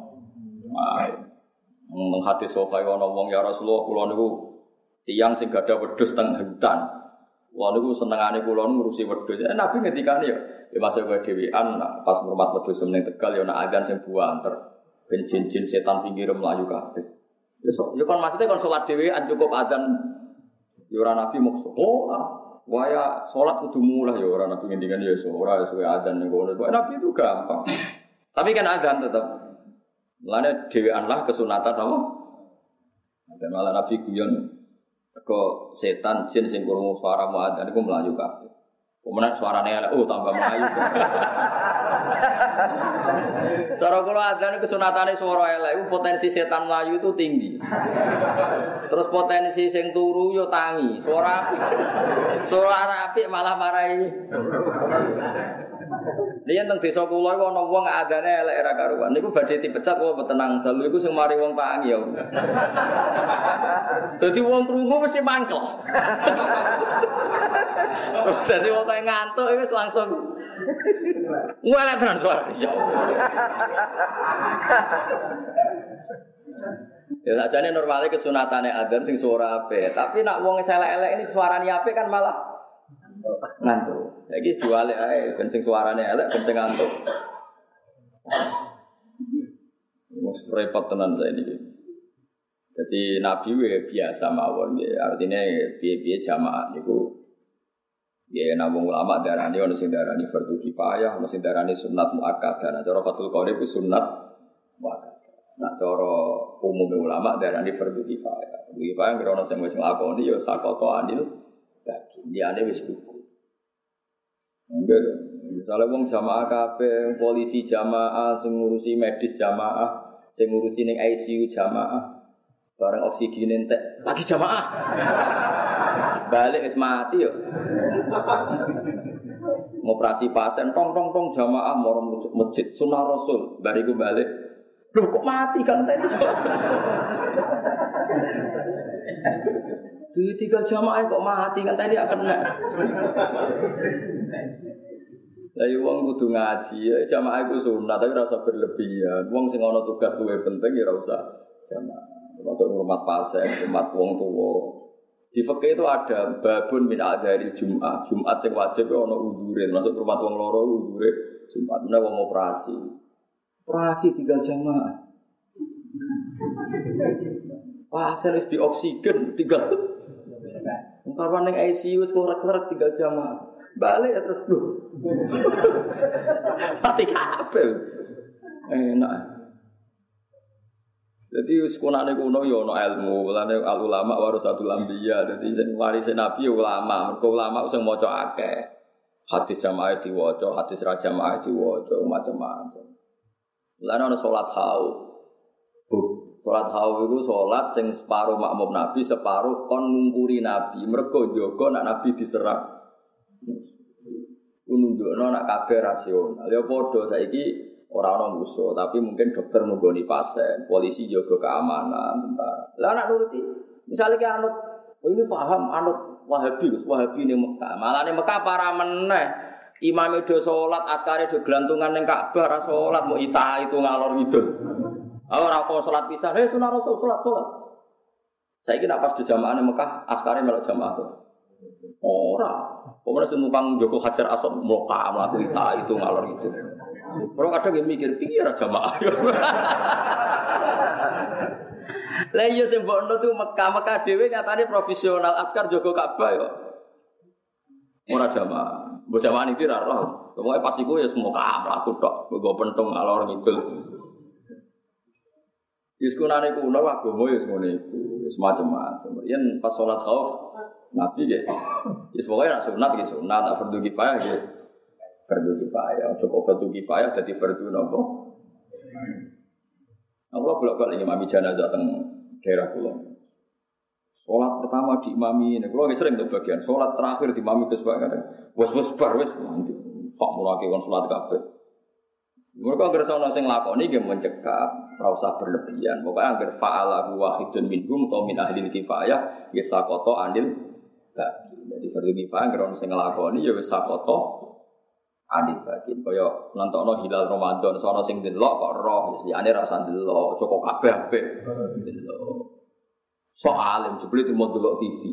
[SPEAKER 2] Nang hadis sahih ana wong ya Rasulullah kula niku tiyang sing gadah wedhus teng hutan. Wah niku senengane kula ngurusi wedhus. Nabi ngendikane ya masuk kowe dhewean pas ngurmat wedhus ning Tegal ya ana adzan sing buanter. Ben jin-jin setan pinggir mlayu kabeh. Ya kon maksudnya kon salat dhewean cukup adzan ya ora Nabi maksud. Waya salat kudu mulai ya ora Nabi ngendikane ya ora suwe adzan ning kono. Nabi itu gampang. Tapi kan adzan tetep. Mulane dhewean lah kesunatan apa? Dan malah Nabi guyon kok setan jin sing krungu suara muadzin iku mlayu kabeh. Pemenang suarane elek tambah mlayu. Cara kula adzan kesunatane suara elek iku potensi setan mlayu itu tinggi. Terus potensi sing turu yo tangi, suara apik. Suara apik malah marahi. Liyan teng desa kula iku ana wong adane elek ra karuan. Niku badhe dipecat apa tenang dalu iku sing mari wong tangi ya. Dadi wong krungu mesti mangkel. Dadi wong tangi ngantuk wis langsung ngwelek tenan suara. Ya sakjane normale kesunatane adzan sing suara apik, tapi nek wong elek-elek ini suarane apik kan malah ngantuk. Saiki juale ae ben sing suarane elek ben sing ngantuk. Wes repot tenan saiki. Jadi Nabi biasa mawon nggih. Artine piye-piye jamaah niku ya nabung ulama darani ono sing darani fardhu kifayah, ono sing darani sunat muakkadah. Nah cara Fathul Qorib ku sunat muakkadah. Nah cara umum ulama darani fardhu kifayah. Fardhu kifayah ngrono sing wis nglakoni ya sakoto anil bagi. Liyane wis cukup. Enggak, misalnya wong jamaah kabeh, polisi jamaah, sing ngurusi medis jamaah, sing ngurusi ning ICU jamaah, bareng oksigen entek, lagi jamaah. Balik wis mati yo. Ngoperasi pasien tong jamaah moro masjid sunah Rasul, bariku balik. Loh kok mati kan tadi? Tiga jamaah kok mati kan tadi akan kena. Lah wong kudu ngaji ya jamaah iku sunat tapi ora usah berlebihan. Wong sing ana tugas luwih penting ya ora usah jamaah. Termasuk hormat pasien, hormat wong tuwa. Di fikih itu ada babun min adzharil Jumat. Jumat sing wajib ana uzure, termasuk hormat wong loro uzure Jumat menawa wong operasi. Operasi tinggal jamaah. Pasien wis di oksigen tinggal. Karwan ning ICU wis klorek-klorek tinggal jamaah. Balik ya terus lho. Mati kabeh. Enak. Jadi sekolahane kuno ya ana ilmu, lane ulama warasatul anbiya. Dadi sing warise nabi ya ulama, mergo ulama sing maca akeh. Hadis jamaah diwaca, hadis ra jamaah diwaca, macam-macam. Lan ana salat khauf. Salat khauf iku salat sing separo makmum nabi, separo kon ngumpuri nabi. Mergo jaga nek nabi diserang. Nunjukno nek kabeh rasional. Ya padha saiki ora ana musuh, tapi mungkin dokter nunggoni pasien, polisi jaga keamanan, tentara. Lah nek nuruti, misale ki anut, ini paham anut Wahabi, Wahabi ning Mekah. Malah ning Mekah para meneh. Imame do salat, askare do glantungan ning Ka'bah ra salat, mbok ita itu ngalor ngidul. Ora kok salat pisan, sunah Rasul salat. Saiki nek pas do jamaah ning Mekah, askare melok jamaah to. Ora. Pokoknya senumpang Joko Hajar Aswad mloka mlaku ita itu ngalor itu. Orang kadang mikir pikir jamaah. Lah iya sing mbokno tuh Mekah dhewe nyatane profesional askar jaga Ka'bah ya. Ora jamaah. Mbok jamaah iki ra roh. Pokoke pas iku ya semoga mlaku tok, nggo pentung ngalor ngidul. Iskunane kuno agama ya ngono iku, semacam-macam. Yen pas salat khauf Nabi nggih. Ya pokoke nek sunat nggih sunat, nek fardhu kifayah nggih fardhu kifayah. Cukup fardhu kifayah dadi fardhu napa? Allah bolak-balik imami jenazah teng daerah kula. Salat pertama diimami, nek kula sering untuk bagian salat terakhir diimami Gus Pak kadang. Wes bar wis Fak mulake kon salat kabeh. Mergo anggere ana sing lakoni nggih mencekap, ora usah berlebihan. Pokoke anggere fa'ala wahidun minhum ta min ahli kifayah ya sakoto anil bagi. Jadi fardhu kifayah anggere ana sing nglakoni ya wis sakoto anil bagi. Kaya nantokno hilal Ramadan sono sing delok kok roh wis liyane ra usah delok, cukup kabeh apik. Delok. Soal jebule mau delok TV.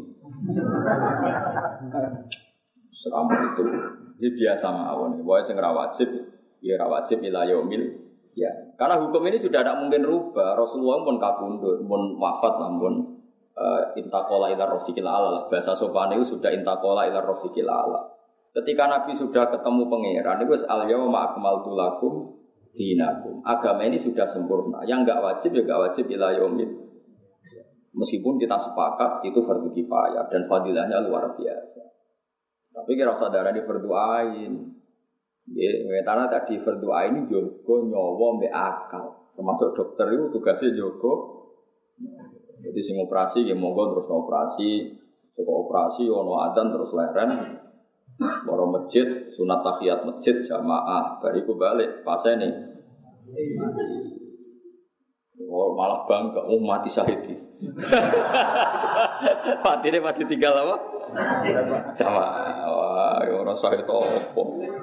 [SPEAKER 2] Seram itu. Ini biasa mawon. Pokoke sing ora wajib ya ora wajib ila yaumil ya. Karena hukum ini sudah tidak mungkin rubah. Rasulullah pun kabundut, pun wafat namun intaqala ila rafiqil ala. Bahasa sopan itu sudah intaqala ila rafiqil ala. Ketika Nabi sudah ketemu pangeran, itu al yauma akmaltu lakum dinakum. Agama ini sudah sempurna. Yang enggak wajib ya enggak wajib ila yaumil. Meskipun kita sepakat itu fardhu kifayah dan fadilahnya luar biasa. Tapi kira saudara di berdoain. Ya, karena tadi berdoa ini jogo nyawa mbek akal. Termasuk dokter itu tugasnya jogo. Jadi sing operasi ya monggo terus operasi, cukup operasi ono adzan terus leren. Moro masjid, sunat tahiyat masjid jamaah, bariku balik pasene. Oh, malah bangga, mati syahid. Patine pasti tinggal apa? Jamaah. Wah, ora syahid apa.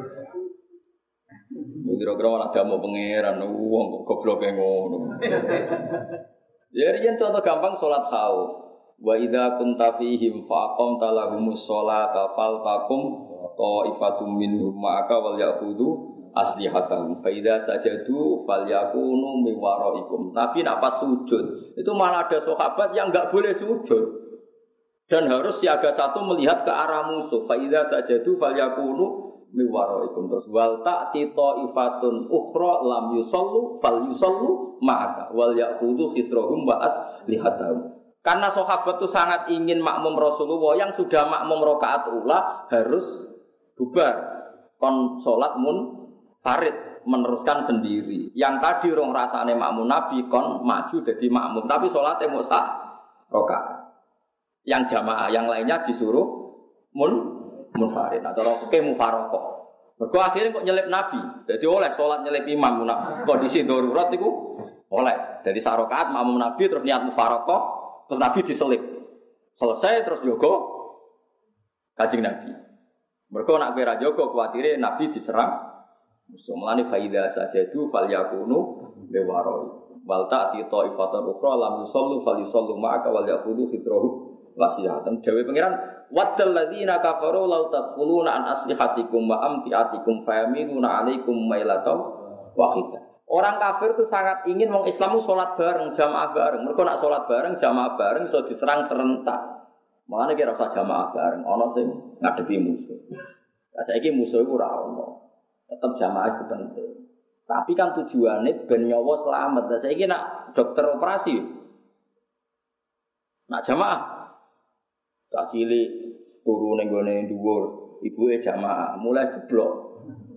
[SPEAKER 2] Kira-kira malah damu pangeran wong kok gobloke ngono. Ya riyen contoh gampang salat khauf. Wa idza kunta fihim fa aqamta lahumus sholata faltaqum ta'ifatum minhum ma'aka wal ya'khudhu aslihatahum fa idza sajadu falyakunu min waraikum. Nabi nak pas sujud itu malah ada sahabat yang enggak boleh sujud dan harus siaga satu melihat ke arah musuh. Fa idza sajadu falyakunu min waraikum. Terus wal ta'ti ta'ifatun ukhra lam yusallu falyusallu ma'aka wal ya'khudhu khitrahum wa aslihatahum. Karena sahabat itu sangat ingin makmum Rasulullah yang sudah makmum rakaat ula harus bubar kon salat farid meneruskan sendiri. Yang tadi rong rasane makmum Nabi kon maju jadi makmum tapi salate mung sak rakaat. Yang jamaah yang lainnya disuruh munfarid atau fikih mufaraqah. Mergo akhirnya kok nyelip Nabi. Jadi oleh salat nyelip imam kondisi darurat iku oleh. Jadi sak rakaat makmum Nabi terus niat mufaraqah terus Nabi diselip. Selesai terus jogo Kanjeng Nabi. Mergo nek kowe ra jogo kuwatire Nabi diserang. Mulane fa idza sajadu falyakunu biwaroi. Wal ta'ti ta'ifatan ukhra lam yusallu falyusallu ma'aka wal ya'khudhu khitrahu wasiyatan. Dewe pangeran waddal ladzina kafaru law tadkhuluna an aslihatikum wa amtiatikum fayamiluna 'alaikum mailatan wahidah. Orang kafir itu sangat ingin wong Islam itu salat bareng, jamaah bareng. Mergo nak salat bareng, jamaah bareng iso diserang serentak. Makane kira usah jamaah bareng, ana sing ngadepi musuh. Lah saiki musuh iku ora ono. Tetep jamaah itu penting. Tapi kan tujuannya ben nyawa selamat. Lah saiki nak dokter operasi. Nak jamaah. Tak cilik turu ning gone dhuwur, ibuke jamaah, mulai jeblok.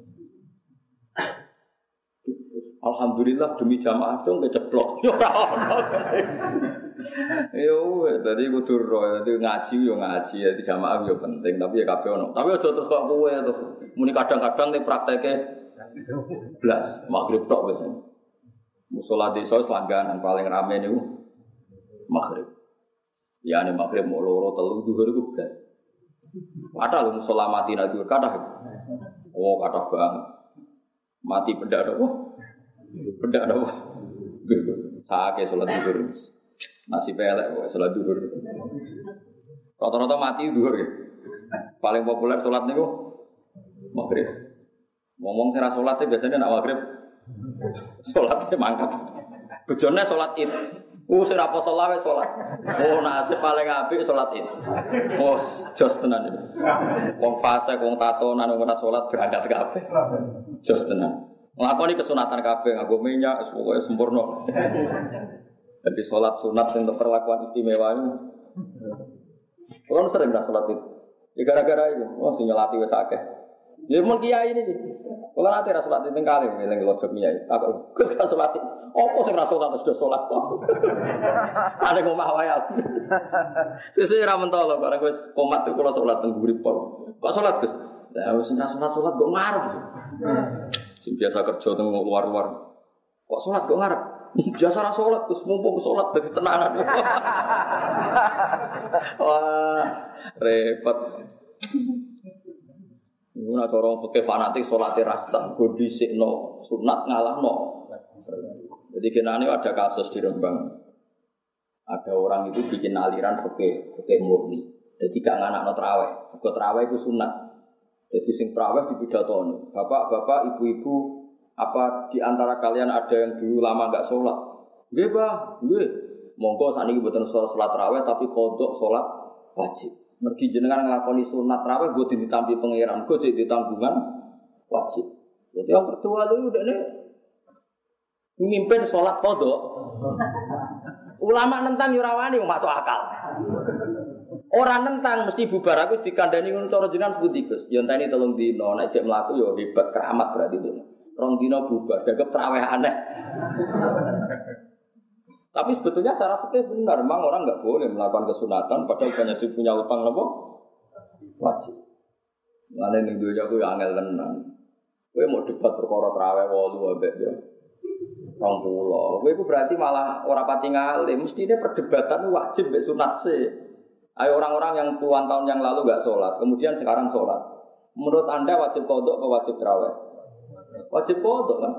[SPEAKER 2] Alhamdulillah demi jamaah itu nggak ceplok. Yo, tadi kudu roh, tadi ngaji yo ngaji, jadi jamaah yo penting. Tapi ya kabeh ono. Tapi aja terus kok kowe terus muni kadang-kadang nih prakteke blas maghrib tok wis. Musala desa langganan paling rame niku maghrib. Ya nek maghrib mau loro telu zuhur iku blas. Kathah lho musala mati nak zuhur kathah. Oh, kathah banget. Mati benda apa? Benda apa? Saake salat zuhur. Nasib elek kok salat zuhur. Rata-rata mati zuhur ya. Paling populer salat niku maghrib. Ngomong sing ra salat biasanya nak maghrib. Salate mangkat. Bojone salat Id. Sing ra poso lawe salat. Oh, nasib paling apik salat Id. Oh, jos tenan iki. Wong fase wong tatonan ora salat berangkat kabeh. Jos tenan. Nglakoni kesunatan kabeh nganggo minyak pokoke sempurna. Jadi salat sunat sing perlakuan istimewa itu. Kalau sering dah salat itu. Ya gara-gara itu, sing nyelati wis akeh. Ya mun kiai ini. Kalau nanti ra salat itu kali eling lojok kiai. Aku Gus kan salat. Apa sing ra salat sudah salat kok. Ada ngomah wae aku. Sesuk ra mentolo bareng wis komat itu kula salat teng guripol. Kok salat Gus? Lah wis salat kok ngarep. Sing biasa kerja teng luar-luar. Kok salat kok ngarep? Biasa ra salat, Gus mumpung salat dadi tenanan. Wah, repot. Iku nek orang fikih fanatik salate rasan, go dhisikno sunat ngalahno. Jadi kenane ada kasus di Rembang. Ada orang itu bikin aliran fikih murni. Jadi gak nganakno traweh. Mergo traweh iku sunat. Jadi sing traweh dipidatoni. Bapak-bapak, ibu-ibu, apa di antara kalian ada yang dulu lama enggak salat? Nggih, Pak. Nggih. Monggo sakniki mboten salat traweh tapi kodok salat wajib. Mergi jenengan nglakoni sunat traweh mbok ditampi pangeran, go cek ditambungan wajib. Jadi yang kedua lu udah nih mimpin sholat kodok. Ulama nentang yurawani masuk akal. Orang nentang mesti bubar aku dikandani ngono cara jenengan putikus. Ya enteni 3 dina nek cek mlaku ya hebat keramat berarti itu. 2 dina bubar, dagep traweh aneh. Tapi sebetulnya secara fikih benar, memang orang enggak boleh melakukan kesunatan padahal banyak sing punya utang apa? Wajib. Ngene ning dunya ku ya angel tenan. Kowe mau debat perkara traweh 8 ambek yo 20. Kowe iku berarti malah ora pati ngalim, mestine perdebatan wajib mbek sunat sih. Ayo orang-orang yang puluhan tahun yang lalu enggak sholat, kemudian sekarang sholat. Menurut Anda wajib qodok atau wajib traweh? Wajib qodok kan?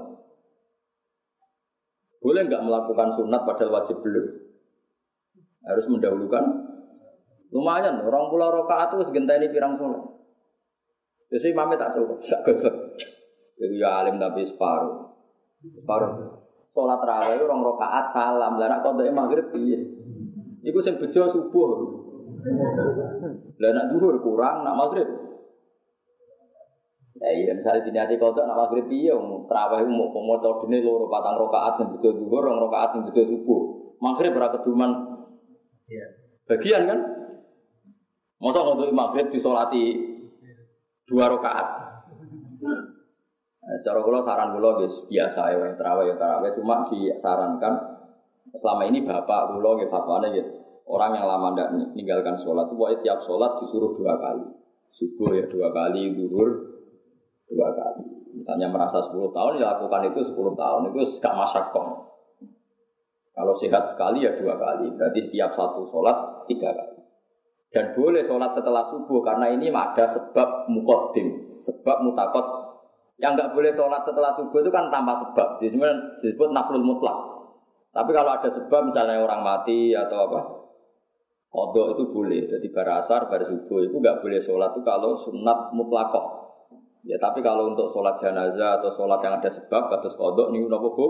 [SPEAKER 2] Boleh enggak melakukan sunat padahal wajib belum? Harus mendahulukan. Lumayan, 20 rakaat itu segenteni pirang sholat. Jadi imamnya tak cukup, sak gosok. Iku ya alim tapi separuh. Sholat tarawih 2 rakaat salam, lah nek qodhoke maghrib piye? Iku sing bejo subuh. Lah nek zuhur kurang, nek maghrib. Ya iya misalnya diniati qodhok nek maghrib piye tarawih mau maca dene 2 4 rakaat sing bejo zuhur, 2 rakaat sing bejo subuh. Maghrib ora keduman. Iya. Bagian kan? Mosok untuk maghrib disolati 2 rakaat. Secara kula saran kula wis biasa ya tarawih cuma disarankan selama ini bapak kula nggih fatwane nggih orang yang lama ndak meninggalkan salat pokoke tiap salat disuruh 2 kali. Subuh ya 2 kali, zuhur 2 kali. Misalnya merasa 10 tahun ya lakukan itu 10 tahun itu gak masyaqqah. Kalau sehat sekali ya 2 kali, berarti setiap satu salat 3 kali. Dan boleh salat setelah subuh karena ini ada sebab muqaddim, sebab mutakot. Yang enggak boleh sholat setelah subuh itu kan tanpa sebab. Jadi disebut naflul mutlak. Tapi kalau ada sebab misalnya orang mati atau apa, qodho itu boleh. Jadi bar asar, bar subuh itu enggak boleh sholat itu kalau sunat mutlakoh. Ya tapi kalau untuk sholat jenazah atau sholat yang ada sebab kados qodho niku napa Bu?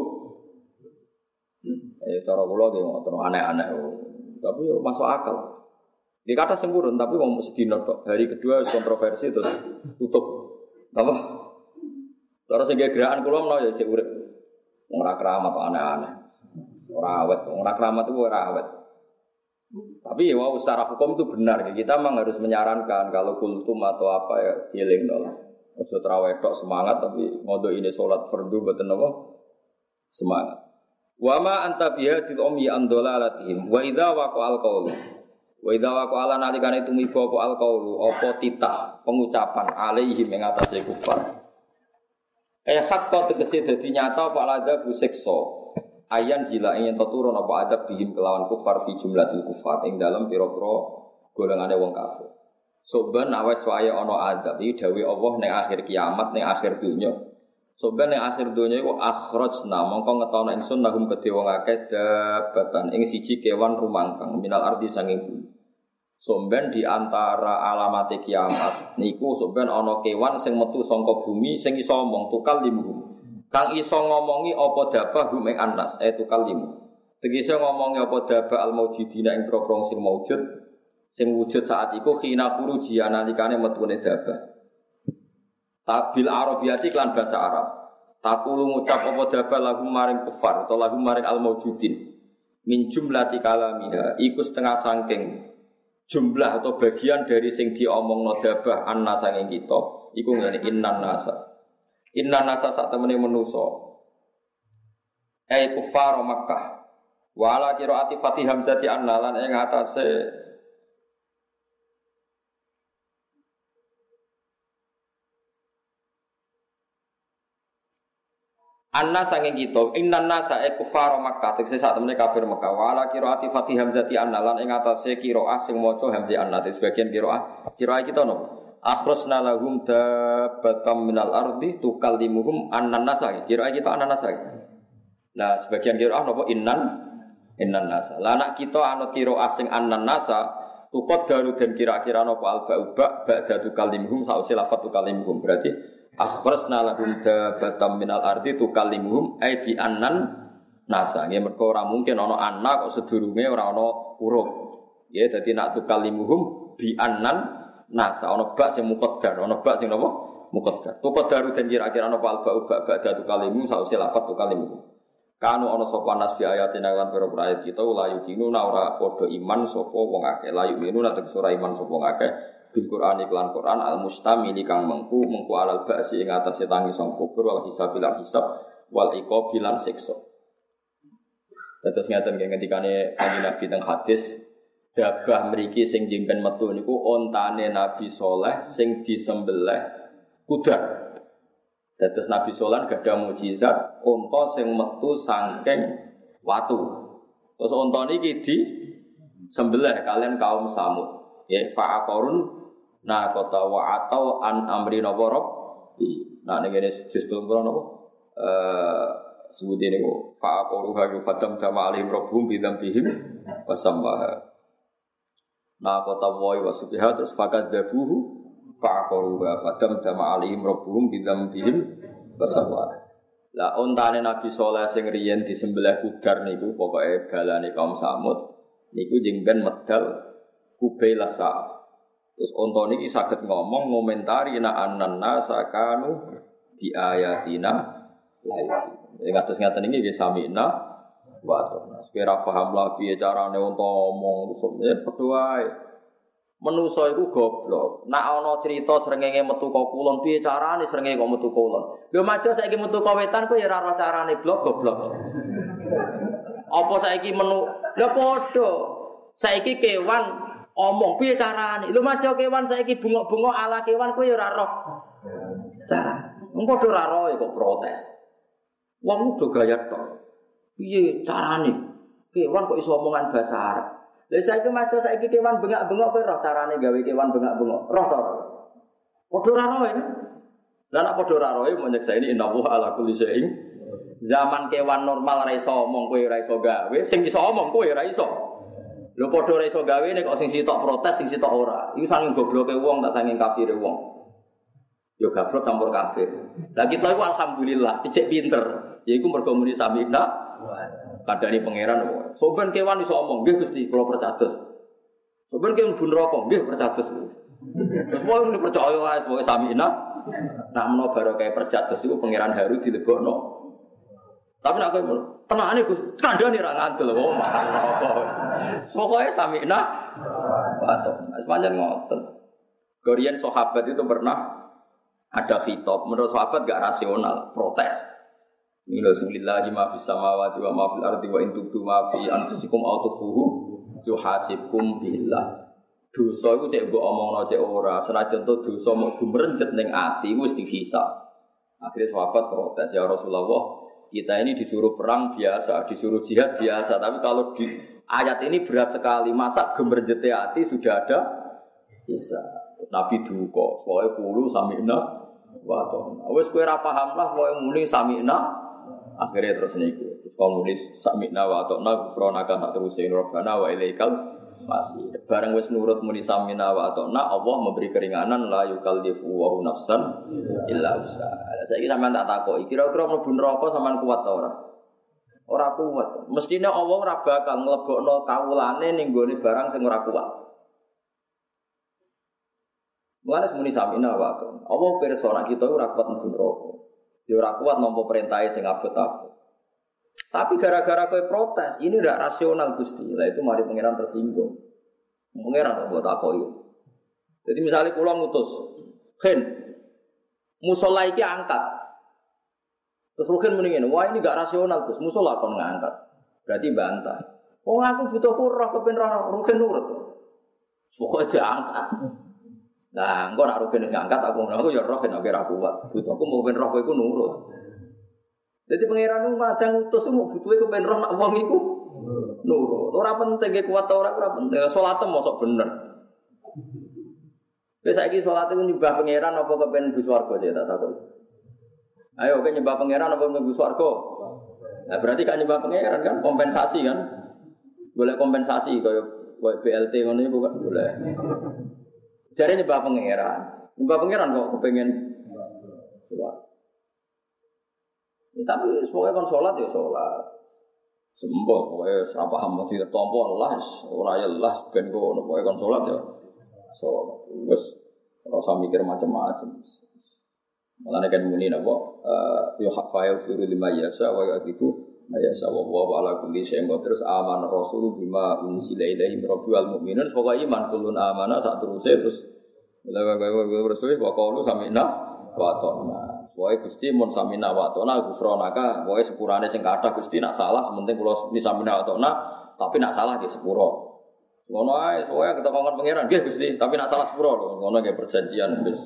[SPEAKER 2] Cara kula nggih ngoten aneh-aneh. Tapi yo masuk akal. Di kata sempurna tapi mau sedina tok. Hari kedua kontroversi terus tutup. Apa? Terus sing gerakan kula menawa ya cek urip. Ora keramat kok aneh-aneh. Ora awet, ora keramat itu ora awet. Tapi ya secara hukum itu benar. Kita memang harus menyarankan kalau kultum atau apa ya dieling lah. Aja traweh tok semangat tapi ngodo ini salat fardu mboten apa semangat. Wa ma anta bihadil ummi an dalalatihim wa idza waqa'al qaulu. Wa idza waqa'ala nalikane tumiba apa al qaulu apa titah pengucapan alaihim ing atase kufar. Hakka tegese dadi nyata apa ada bu siksa. Ayan jila ing turun apa adab bihim kelawan kufar fi jumlatil kufar ing dalam pira-pira golongane wong kafir. Soban awes wae ana adab iki dawuh Allah ning akhir kiamat ning akhir dunya. Soban ning akhir dunya iku akhrajna mongko ngetono ingsun lahum kedhe wong akeh dabatan ing siji kewan rumangkang minal ardi sanging bumi. Somben di antara alamat kiamat niku somben ana kewan sing metu saka bumi sing iso omong tukal limu. Kang iso ngomongi apa dabah hum ing anas tukal limu. Tegese ngomongi apa dabah al maujidina ing prokron sing maujud sing wujud saat iku khina furuji nalikane metune dabah. Tabil arabiyati lan bahasa Arab. Takulu ngucap apa dabah lahum maring kufar atau lahum maring al maujudin. Min jumlati kalamiha iku setengah saking jumlah atau bagian dari sing diomongno dabah anna sanging kita iku ngene innan nasa sak temene manusa kufar Makkah wala qiraati Fatih Hamzati anna lan ing atase Anna sange kita innan nasa kufar Makkah tegese sak temene kafir Makkah wala qiraati Fatih Hamzati annalan ing atase qiraah sing maca Hamzah anna sebagian qiraah kita no akhrasna lahum dabbatam minal ardi tukallimuhum annan nasa qiraah kita annan nasa. Nah sebagian qiraah napa innan nasa. Lah anak kita anut qiraah sing annan nasa tukot daru dan kira-kira napa alba ba'da tukallimuhum sause lafat tukallimuhum berarti akhrasna lahum dabatam minal ardi tukallimuhum ai bi annan nasa nggih mergo ora mungkin ana anak kok sedurunge ora ana huruf nggih dadi nak tukallimuhum bi annan nasa ana bak sing muqaddar ana bak sing napa muqaddar tuqaddaru den kira-kira ana alba ba'da tukallimuhum sause lafat tukallimuhum kanu ana sapa nas bi ayatina lan pira ayat kita la yukinu ora padha iman sapa wong akeh la yukinu nek ora iman sapa wong akeh bil Qur'an iklan Qur'an al mustamili kang mengku alal ba'si ing atase tangi sang kubur wal hisabil hisab wal iqabil lan siksa. Terus ngaten ngendikane Kanjeng Nabi teng hadis dabah mriki sing jimpen metu niku ontane Nabi Saleh sing disembelih kuda. Terus Nabi Saleh gadah mukjizat unta sing metu saking watu. Terus unta niki disembelih kalian kaum Samud. Ya fa'aqarun nah kota wa atau an amri napa nah ngene justru napa sebutine kok fa'aqaru hayu fatam sama alim rabbum bidam bihim wasambaha nah kota wa wasubiha terus fakat dabuhu fa'aqaru wa fatam sama alim rabbum bidam bihim wasambaha. Lah ontane Nabi Saleh sing riyen disembelih kudar niku pokoke balane kaum Samud niku jeng ben medal kubailasa. Terus onto niki saged ngomong ngomentari na annanna sakanu bi ayatina lain. Ngatos ngaten iki nggih samina wa atona. Sekira paham lah piye carane onto ngomong terus padha wae. Manusa iku goblok. Nek ana crita srengenge metu ka kulon piye carane srengenge kok metu kulon. Lho Mas yo saiki metu ka wetan kok ya ora ora carane blok goblok. Apa saiki menu lha padha. Saiki kewan omong piye carane? Lho Mas yo kewan saiki bengok-bengok ala kewan kowe ya ora roh. Cara. Engko ora roh kok protes. Wong udah gaya tok. Piye carane? Kewan kok iso omongan bahasa Arab. Lah saiki Mas yo saiki kewan bengak-bengok kowe roh carane gawe kewan bengak-bengok. Roh to. Padha ora roh iki. Lah nek padha ora roh menyekseni innallaha ala kulli syai'in. Zaman kewan normal ora iso omong kowe ora iso gawe, sing iso omong kowe ora iso. Lho padha ora iso gawe nek kok sing sitok protes sing sitok ora. Iku saking gobloke wong tak saking kafire wong. Yo gablok campur kafir. Lah kita iku alhamdulillah dicek pinter. Yaiku mergo muni samina kadani pangeran. Soben kewan iso omong, nggih Gusti kula percados. Soben kewan mlebu neraka, nggih percados. Terus wong percaya wae pokoke samina. Nak menawa barokah percados iku pangeran Haru dilebokno. Tapi nak kowe tenane Gus, kandhane ra ngandel kok. Pokoke samina wato. Sepanjang ngoten. Gorian sahabat itu pernah ada khitab, menurut sahabat enggak rasional, protes. Bismillahirrahmanirrahim, ma fis samawati wa ma fil ardi wa in tubdu ma fi anfusikum aw tukhfuhu yuhasibkum billah. Dosa iku cek mbok omongno cek ora, senajan to dosa mok gumrencet ning ati wis dihisab. Akhirnya sahabat protes, ya Rasulullah, kita ini disuruh perang biasa, disuruh jihad biasa, tapi kalau di ayat ini berat sekali, masa gemerjete hati sudah ada bisa. Nabi duka, pokoke kulo samina wa ta'na. Wis kowe ora paham lah pokoke muni samina. Akhirnya terus niku. Terus kalau muni samina wa ta'na gufranaka tak terusin rabbana wa ilaikal masih. Bareng wis nurut muni samina wa ta'na, Allah memberi keringanan la yukallifu wa nafsan illa wus'aha. Saiki sampean tak takoki, kira-kira mlebu neraka sampean kuat ta ora? Ora kuat. Mestine Allah ora bakal nglebokno kawulane ning gone barang sing ora kuat. Mulane muni samina wa ta'na. Allah pirsa nek kita ora kuat mlebu neraka. Ya ora kuat nampa perintahe sing abot-abot. Tapi gara-gara kowe protes, ini ndak rasional Gusti. Lah itu mari pangeran tersinggung. Pangeran kok takoki. Jadi misalnya kula ngutus, "Khen, musala iki angkat." Terus Rukin muni ngene, "Wah, ini enggak rasional, Gus. Musala kon ngangkat." Berarti bantah. "Oh, aku butuh roh kepen roh." Rukin nurut. Pokoke diangkat. Nah, engko nek Rukin wis ngangkat aku ya roh nek ora kuat. Butuhku mau ben roh kowe iku nurut. Jadi pangeran itu kadang ngutus mau butuhe kepen roh nak wong iku nurut. Ora penting ge kuat ora penting. Salat mosok bener. Wis saiki salat iku nyembah pangeran apa kepen mlebu swarga tak takon. Ayo kowe nyembah pangeran apa mlebu swarga? Nah berarti gak nyembah pangeran kan kompensasi kan? Boleh kompensasi kaya BLT ngono iku kan boleh. Jare nyembah pangeran. Nyembah pangeran kok kepengin salat. Tapi pokoknya kan sholat ya sholat. Sembuh pokoknya serah paham mesti tompo lah, ora ya lah ben kono pokoknya kan sholat ya. Sholat. Wes ora usah mikir macam-macam. Mulane kan muni napa ya hafayu firu lima yasa wa yatiku mayasa wa ala kulli syai'in terus aman rasul bima unsila ilaihi rabbil wal mu'minun pokoknya iman kullun amana sak teruse terus rasul wa qaulu sami'na wa ata'na. Wae Gusti mun samina wa ta'na gufronaka, wae sepurane sing kathah Gusti nak salah sementing kula ni samina wa ta'na, tapi nak salah nggih sepuro. Ngono ae, wae ketekon pangeran nggih Gusti, tapi nak salah sepuro lho, ngono nggih perjanjian wis.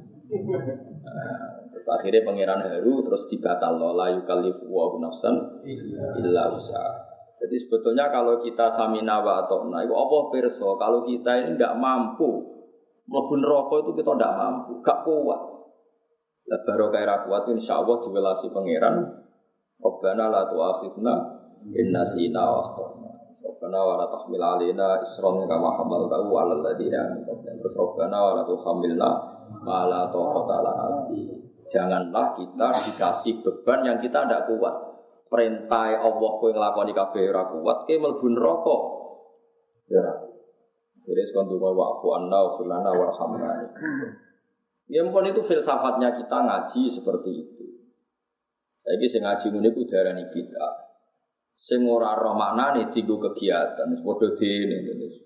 [SPEAKER 2] Terus akhirnya pangeran haru terus dibatalno la yukallifu wa nafsan illa wus'aha. Jadi sebetulnya kalau kita samina wa ta'na itu apa pirsa kalau kita ini ndak mampu mlebu neraka itu kita ndak mampu, gak kuat. La barokah ra kuat insyaallah diwelasi pangeran. Rabbana la tu'akhidna in nasina wa akhtana. Rabbana wa la tahmil 'alaina isran kama hamaltahu 'alal ladzina min qablina. Rabbana wa la tuhammilna ma la taqata lana bihi. Janganlah kita dikasih beban yang kita tidak kuat. Perintah Allah kowe nglakoni kabeh ora kuat, ke mlebu neraka. Ya. Jadi sekontu wa'fu anna wa filana warhamna. Ya ampun itu filsafatnya kita ngaji seperti itu. Saiki sing ngaji ngene iku diarani bid'ah. Sing ora roh maknane dienggo kegiatan, padha dene.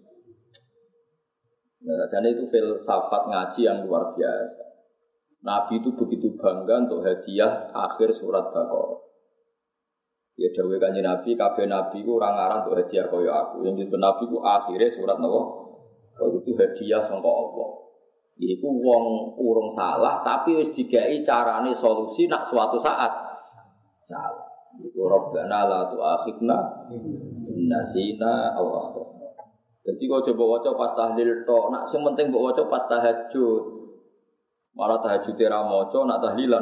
[SPEAKER 2] Nah, jadi itu filsafat ngaji yang luar biasa. Nabi itu begitu bangga untuk hadiah akhir surat Baqarah. Ya dawuh Kanjeng Nabi, kabeh nabi ku ora ngarang untuk hadiah kaya aku. Yang itu nabi ku akhire surat napa? Itu hadiah sangka Allah. Iku wong urung salah tapi wis digawe carane solusi nak suatu saat salah. Iku Rabbana la tu'akhidna in nasina aw akhtana. Dadi kok coba waca pas tahlil tok, nak sing penting mbok waca pas tahajud. Malah tahajud ora maca, nak tahlilan.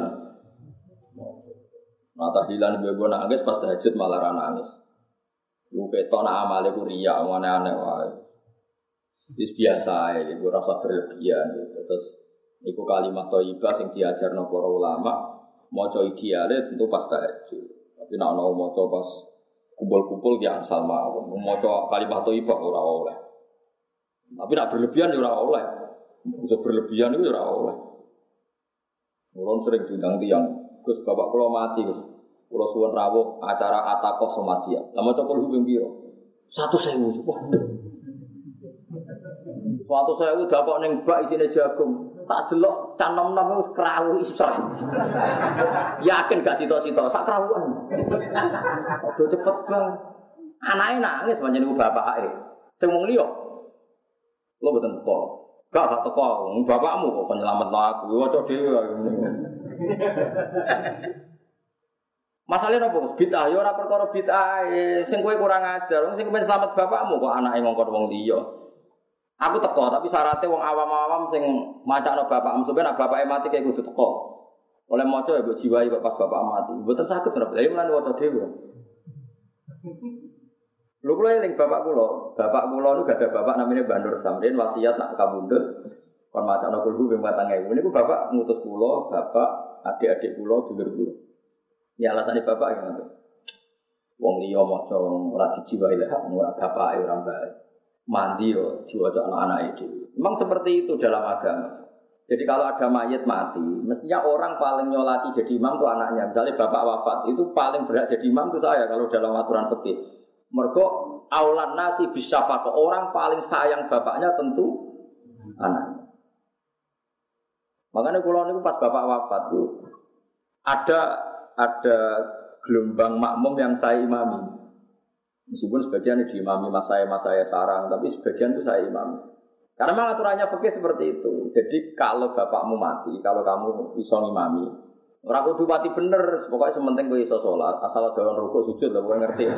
[SPEAKER 2] Nak tahlilan bebo nangis pas tahajud malah ra nangis. Lu ketok nak amale ku riya aneh-aneh wae. Itu biasa ya, itu rasa berlebihan gitu. Terus itu kalimat thayyibah yang diajarno para ulama, maca ideale tentu pas tahajud. Tapi nek ana maca pas kumpul-kumpul ki asal mawon. Maca kalimat thayyibah ora oleh. Tapi nek berlebihan ya ora oleh. Bisa berlebihan itu ora oleh. Orang sering diundang tiyang, Gus bapak kula mati Gus. Kula suwun rawuh acara atakoh somatia. Lah maca kul ping pira? 1.000. Wah. Suatu saya udah kok neng bak isine jagung, tak delok canom-nom wis krawu isor. Yakin gak sito-sito sak krawuan. Aduh cepet bang. Anake nangis pancen iku bapake. Sing wong liya. Lho mboten teko. Gak teko, bapakmu kok penyelametno aku. Waca dhewe. Masalahnya apa? Bid'ah ya ora perkara bid'ah. Sing kowe kurang ajar, sing kepen selamat bapakmu kok anake ngongkon wong liya. Aku teko, tapi syaratnya wong awam-awam sing macakno bapakmu sampeyan bapake mati kayak kudu teko. Oleh maca ya mbok jiwai pas bapak mati. Mboten saged ora. Lah iya lan waca dhewe. Lho kula eling bapak kula. Bapak kula niku gak ada bapak namanya Mbah Nur Samrin wasiat nak kabundut kon macakno kulhu ping 4000. Niku bapak ngutus kula, bapak, adik-adik kula, dulur kula. Ya alasane bapak ngono. Wong liya maca ora dijiwai lah, ora bapake ora mbake. Mandi yo diwaca anak-anak itu. Memang seperti itu dalam agama. Jadi kalau ada mayit mati, mestinya orang paling nyolati jadi imam itu anaknya. Misalnya bapak wafat, itu paling berhak jadi imam itu saya kalau dalam aturan fikih. Mergo aulan nasi bisyafaqah, orang paling sayang bapaknya tentu anaknya. Makanya kula niku pas bapak wafat itu ada gelombang makmum yang saya imami. Meskipun sebagian diimami mas saya sarang, tapi sebagian itu saya imami. Karena memang aturannya fikih seperti itu. Jadi kalau bapakmu mati, kalau kamu iso imami, Ora kudu pati bener, pokoke sementing kowe iso salat, asal aja rukuk sujud lah kowe ngerti.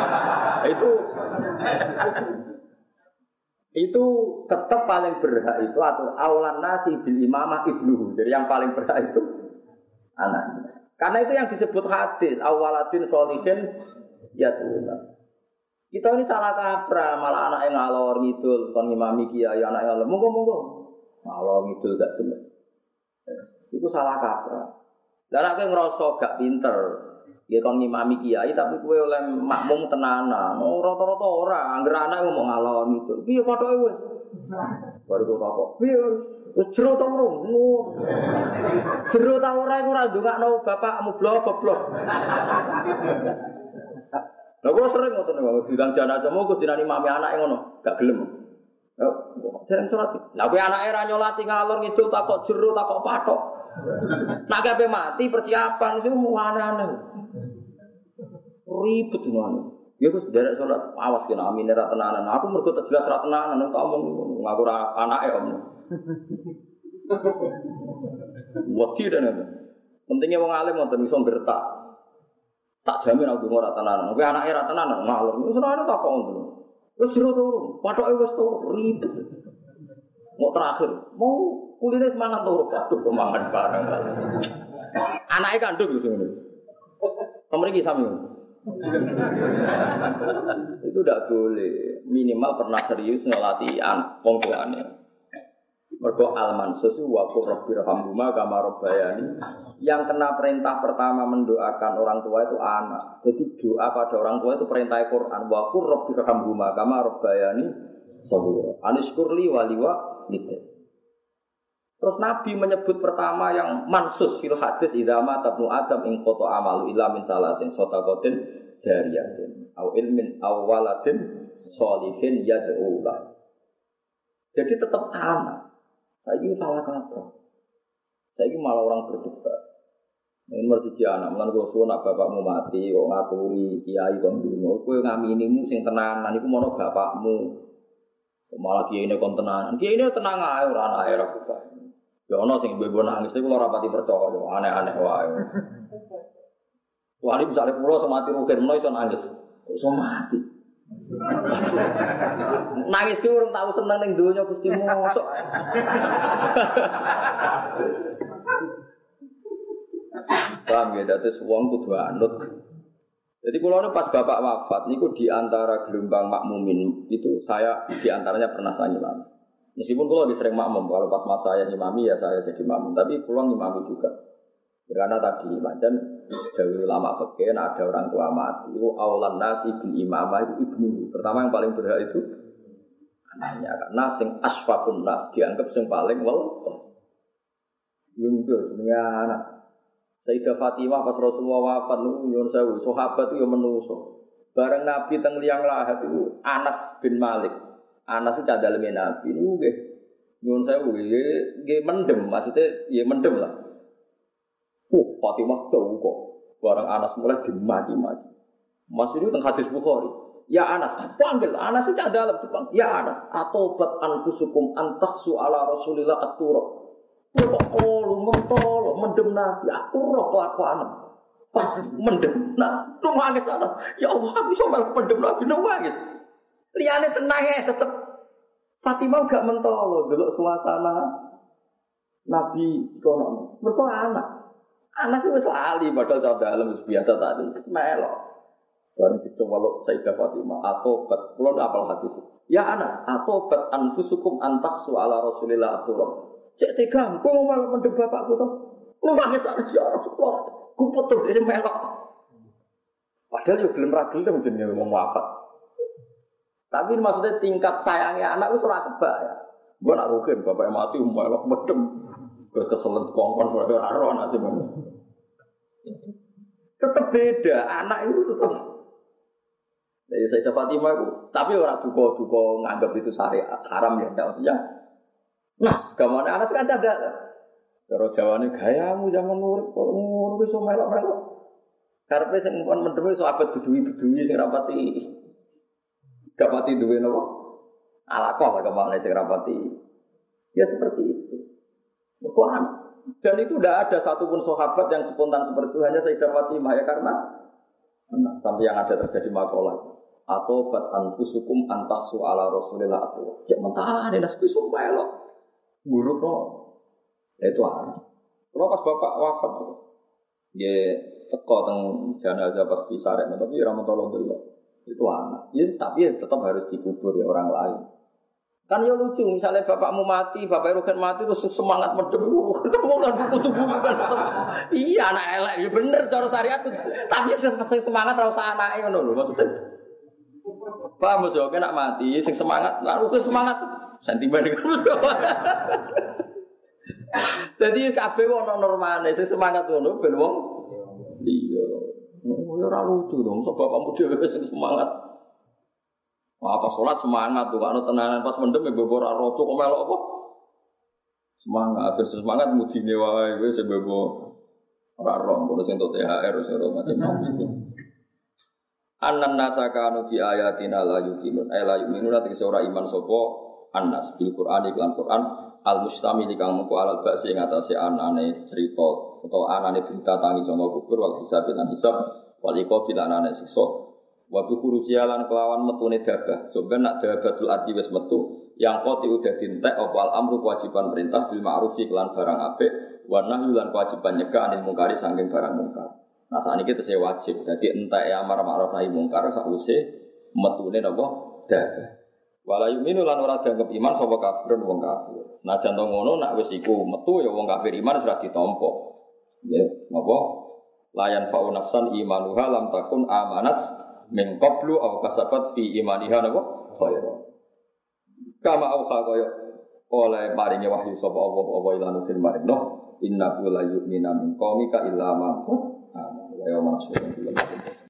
[SPEAKER 2] Itu tetap paling berhak itu atau awalan nasi bil imamah ibnuhu. Jadi yang paling berhak itu anaknya. Karena itu yang disebut hadis awaladin sholihin yatuna. Kita ini salah kaprah, malah anak yang ngalor ngidul kon ngimami kiai anak yang monggo ngalor ngidul gak jelas. Itu salah kaprah. Lah nek kowe ngrasa gak pinter, ya kon ngimami kiai tapi kowe oleh makmum tenanan. Rata-rata ora, anggere anak ngomong ngalor ngidul. Piye pathoke wis? Baru kok takok. Piye wis jero ta urung? Jero ta ora iku ora ndongakno bapakmu blok. Lah kok sering ngoten niku, bilang jenazah mau kok dinani mami anake ngono, gak gelem. Yo, jarang salat. Lah kowe anake ra nyolati ngalor ngidul takok jero takok pathok. Nak kabeh mati persiapan sing aneh-aneh. Ribet ngono. Ya wis derek salat, awas kena amine ra tenanan. Aku mergo tak jelas ra tenanan tak omong ngaku ra anake om. Wedi tenan. Pentingnya wong alim ngoten iso gertak. Tak jamin aku ora tenanan. Kowe anake ra tenanan ngalor. Wis ora tak kok ngono. Wis jero turu, pathoke wis turu ribet. Mau terakhir, mau kuliner semangat turu, aduh semangat bareng. Anaknya kandung gitu ini. Kamu ini sami. Itu tidak boleh. Minimal pernah serius ngelatihan pengkuannya. Mergo al-mansus wa qur rabbirhamhuma kama rabbayani. Yang kena perintah pertama mendoakan orang tua itu anak. Jadi doa pada orang tua itu perintah Quran wa qur rabbirhamhuma kama rabbayani shaghira. Anishkurli waliwa gitu. Terus Nabi menyebut pertama yang mansus fil hadis idza mata ibnu adam in qata amalu illa min salatin shadaqatin jariyatin au ilmin aw waladin sholihin yad'u la. Jadi tetap anak. Saiki salah kaprah. Saiki malah orang berdebat. Yen mesti anak, lan kok suwun bapakmu mati kok ngaturi kiai kon ndonga, kowe ngaminimu sing tenanan iku mono bapakmu. Malah kiai ini kon tenanan. Kiai ini tenang ae ora anake ra buka. Ya ana sing ibu-ibu nangis iku ora pati percaya, aneh-aneh wae. Wali misale kula semati rugen menawa iso nangis. Iso mati. Nangis ki urung tau seneng ning donya Gusti mosok. Paham ya, dadi wong kudu anut. Jadi kalau pas bapak wafat, niku di antara gelombang makmumin itu saya di antaranya pernah saya ngimami. Meskipun kalau lebih sering makmum, kalau pas masa saya ngimami ya saya jadi makmum, tapi pulang ngimami juga. Karena tadi macam dari ulama fikih ada orang tua mati, itu awalan nasi bil imamah itu ibnu. Pertama yang paling berhak itu anaknya, karena sing asfaqun nas dianggap sing paling welas. Lungguh jenenge anak. Sayyidah Fatimah pas Rasulullah wafat niku nyuwun sewu, sahabat itu ya menungso. Bareng Nabi teng liang lahat itu Anas bin Malik. Anas itu cadaleme Nabi niku nggih nyuwun sewu nggih mendem, maksudnya ya mendem lah. Fatimah tahu kok. Bareng Anas mulai dimaki-maki. Mas ini teng hadis Bukhari. Ya Anas, panggil Anas itu cadalem dipanggil. Ya Anas, atobat anfusukum antaksu ala Rasulillah at-turab. Kok lu mentol, mendem Nabi, aku roh kelakuan. Pas mendem Nabi, nangis ana. Ya Allah, aku iso mendem Nabi nangis. Liyane tenang ya tetep Fatimah gak mentol delok suasana Nabi kono. Mergo anak itu wis lali padahal ta dalem wis biasa tadi. Melok. Bareng dicoba Sayyidah Fatimah atobat. Kulo apal hadis. Ya Anas, atobat anfusukum antaksu ala Rasulillah at-turab. Cek tegang, kok malah mendem bapakku toh? Nangis ya Rasulullah. Ku putus dari melok. Padahal yo gelem ra gelem jenenge wong wafat. Tapi maksudnya tingkat sayangnya anak wis ora kebak ya. Gua nak rugen bapaknya mati melok mendem. Terus keselen kongkon ora ro nasib. Tetep beda, anak itu tetep. Jadi Sayyidah Fatimah itu, tapi orang duka-duka nganggap itu syariat haram ya, maksudnya. Nas, gamane anak kan ada. Cara Jawane gayamu zaman urip kok ngono wis melok-melok. Karepe sing mendem iso abet beduwi-beduwi sing rapati. Gak pati duwe napa? Alaqah kemana sing rapati. Ya seperti itu. Bukan Dan itu tidak ada satupun sahabat yang spontan seperti itu, hanya Sayyidah Fatimah ya karena sampai yang ada terjadi makalah atau bat anfusukum antahsu ala Rasulillah atau ya mentala ada nasbi sumpah lo buruk no itu ada. Kalau pas bapak wafat ya teko teng jenazah pasti sarek tapi ramatullah dulu itu anak ya tapi ya tetap harus dikubur ya orang lain. Kan ya lucu, misalnya bapakmu mati, bapak Rugen mati terus semangat mendem, kamu kan kudu kan. Iya anak elek, ya bener cara syariat itu. Tapi semangat ra usah anake ngono lho maksudnya. Paham mesti oke nak mati, sing semangat, lalu ke semangat sentimen iku. Jadi kabeh ono normale, sing semangat ngono ben wong iya. Ora lucu dong, sebab bapakmu dhewe sing semangat. Apa sholat semangat tuh, kalau tenanan pas mendem ya bebo raro kok melok apa? Semangat, semangat mudine wae wis bebo raro, ngono sing entuk THR wis ora macam-macam. Annan nasakanu bi ayatina la yuqinun, la yuqinun ati ora iman sapa annas bil Qur'an iklan Qur'an al mustamil kang mengko alal ba'si ing atase anane cerita utawa anane berita tangi sanga kubur wal hisab lan hisab wal iqab lan anane siksa. Waktu kurujialan kelawan metune dabah. Soben nak dabatul ardi wis metu yang koti udah dintek opal amru kewajiban perintah bil ma'rufi kelan barang apik wa nahyi lan kewajiban nyegah anil mungkari saking barang mungkar. Nah sakniki tesih wajib. Dadi entek amar ma'ruf nahi mungkar sakwise metune napa dabah. Wala yu'minu lan ora dianggep iman sapa kafir wong kafir. Senajan to ngono nak wis iku metu ya wong kafir iman wis ora ditampa. Ya napa? Layan fa'u nafsan imanuha lam takun amanat min qablu aw kasabat fi imaniha napa khairan kama auha kaya oleh maringe wahyu sapa apa ilanu fil marino innahu la yu'minu min qaumika illa ma amana wa yawma nasrul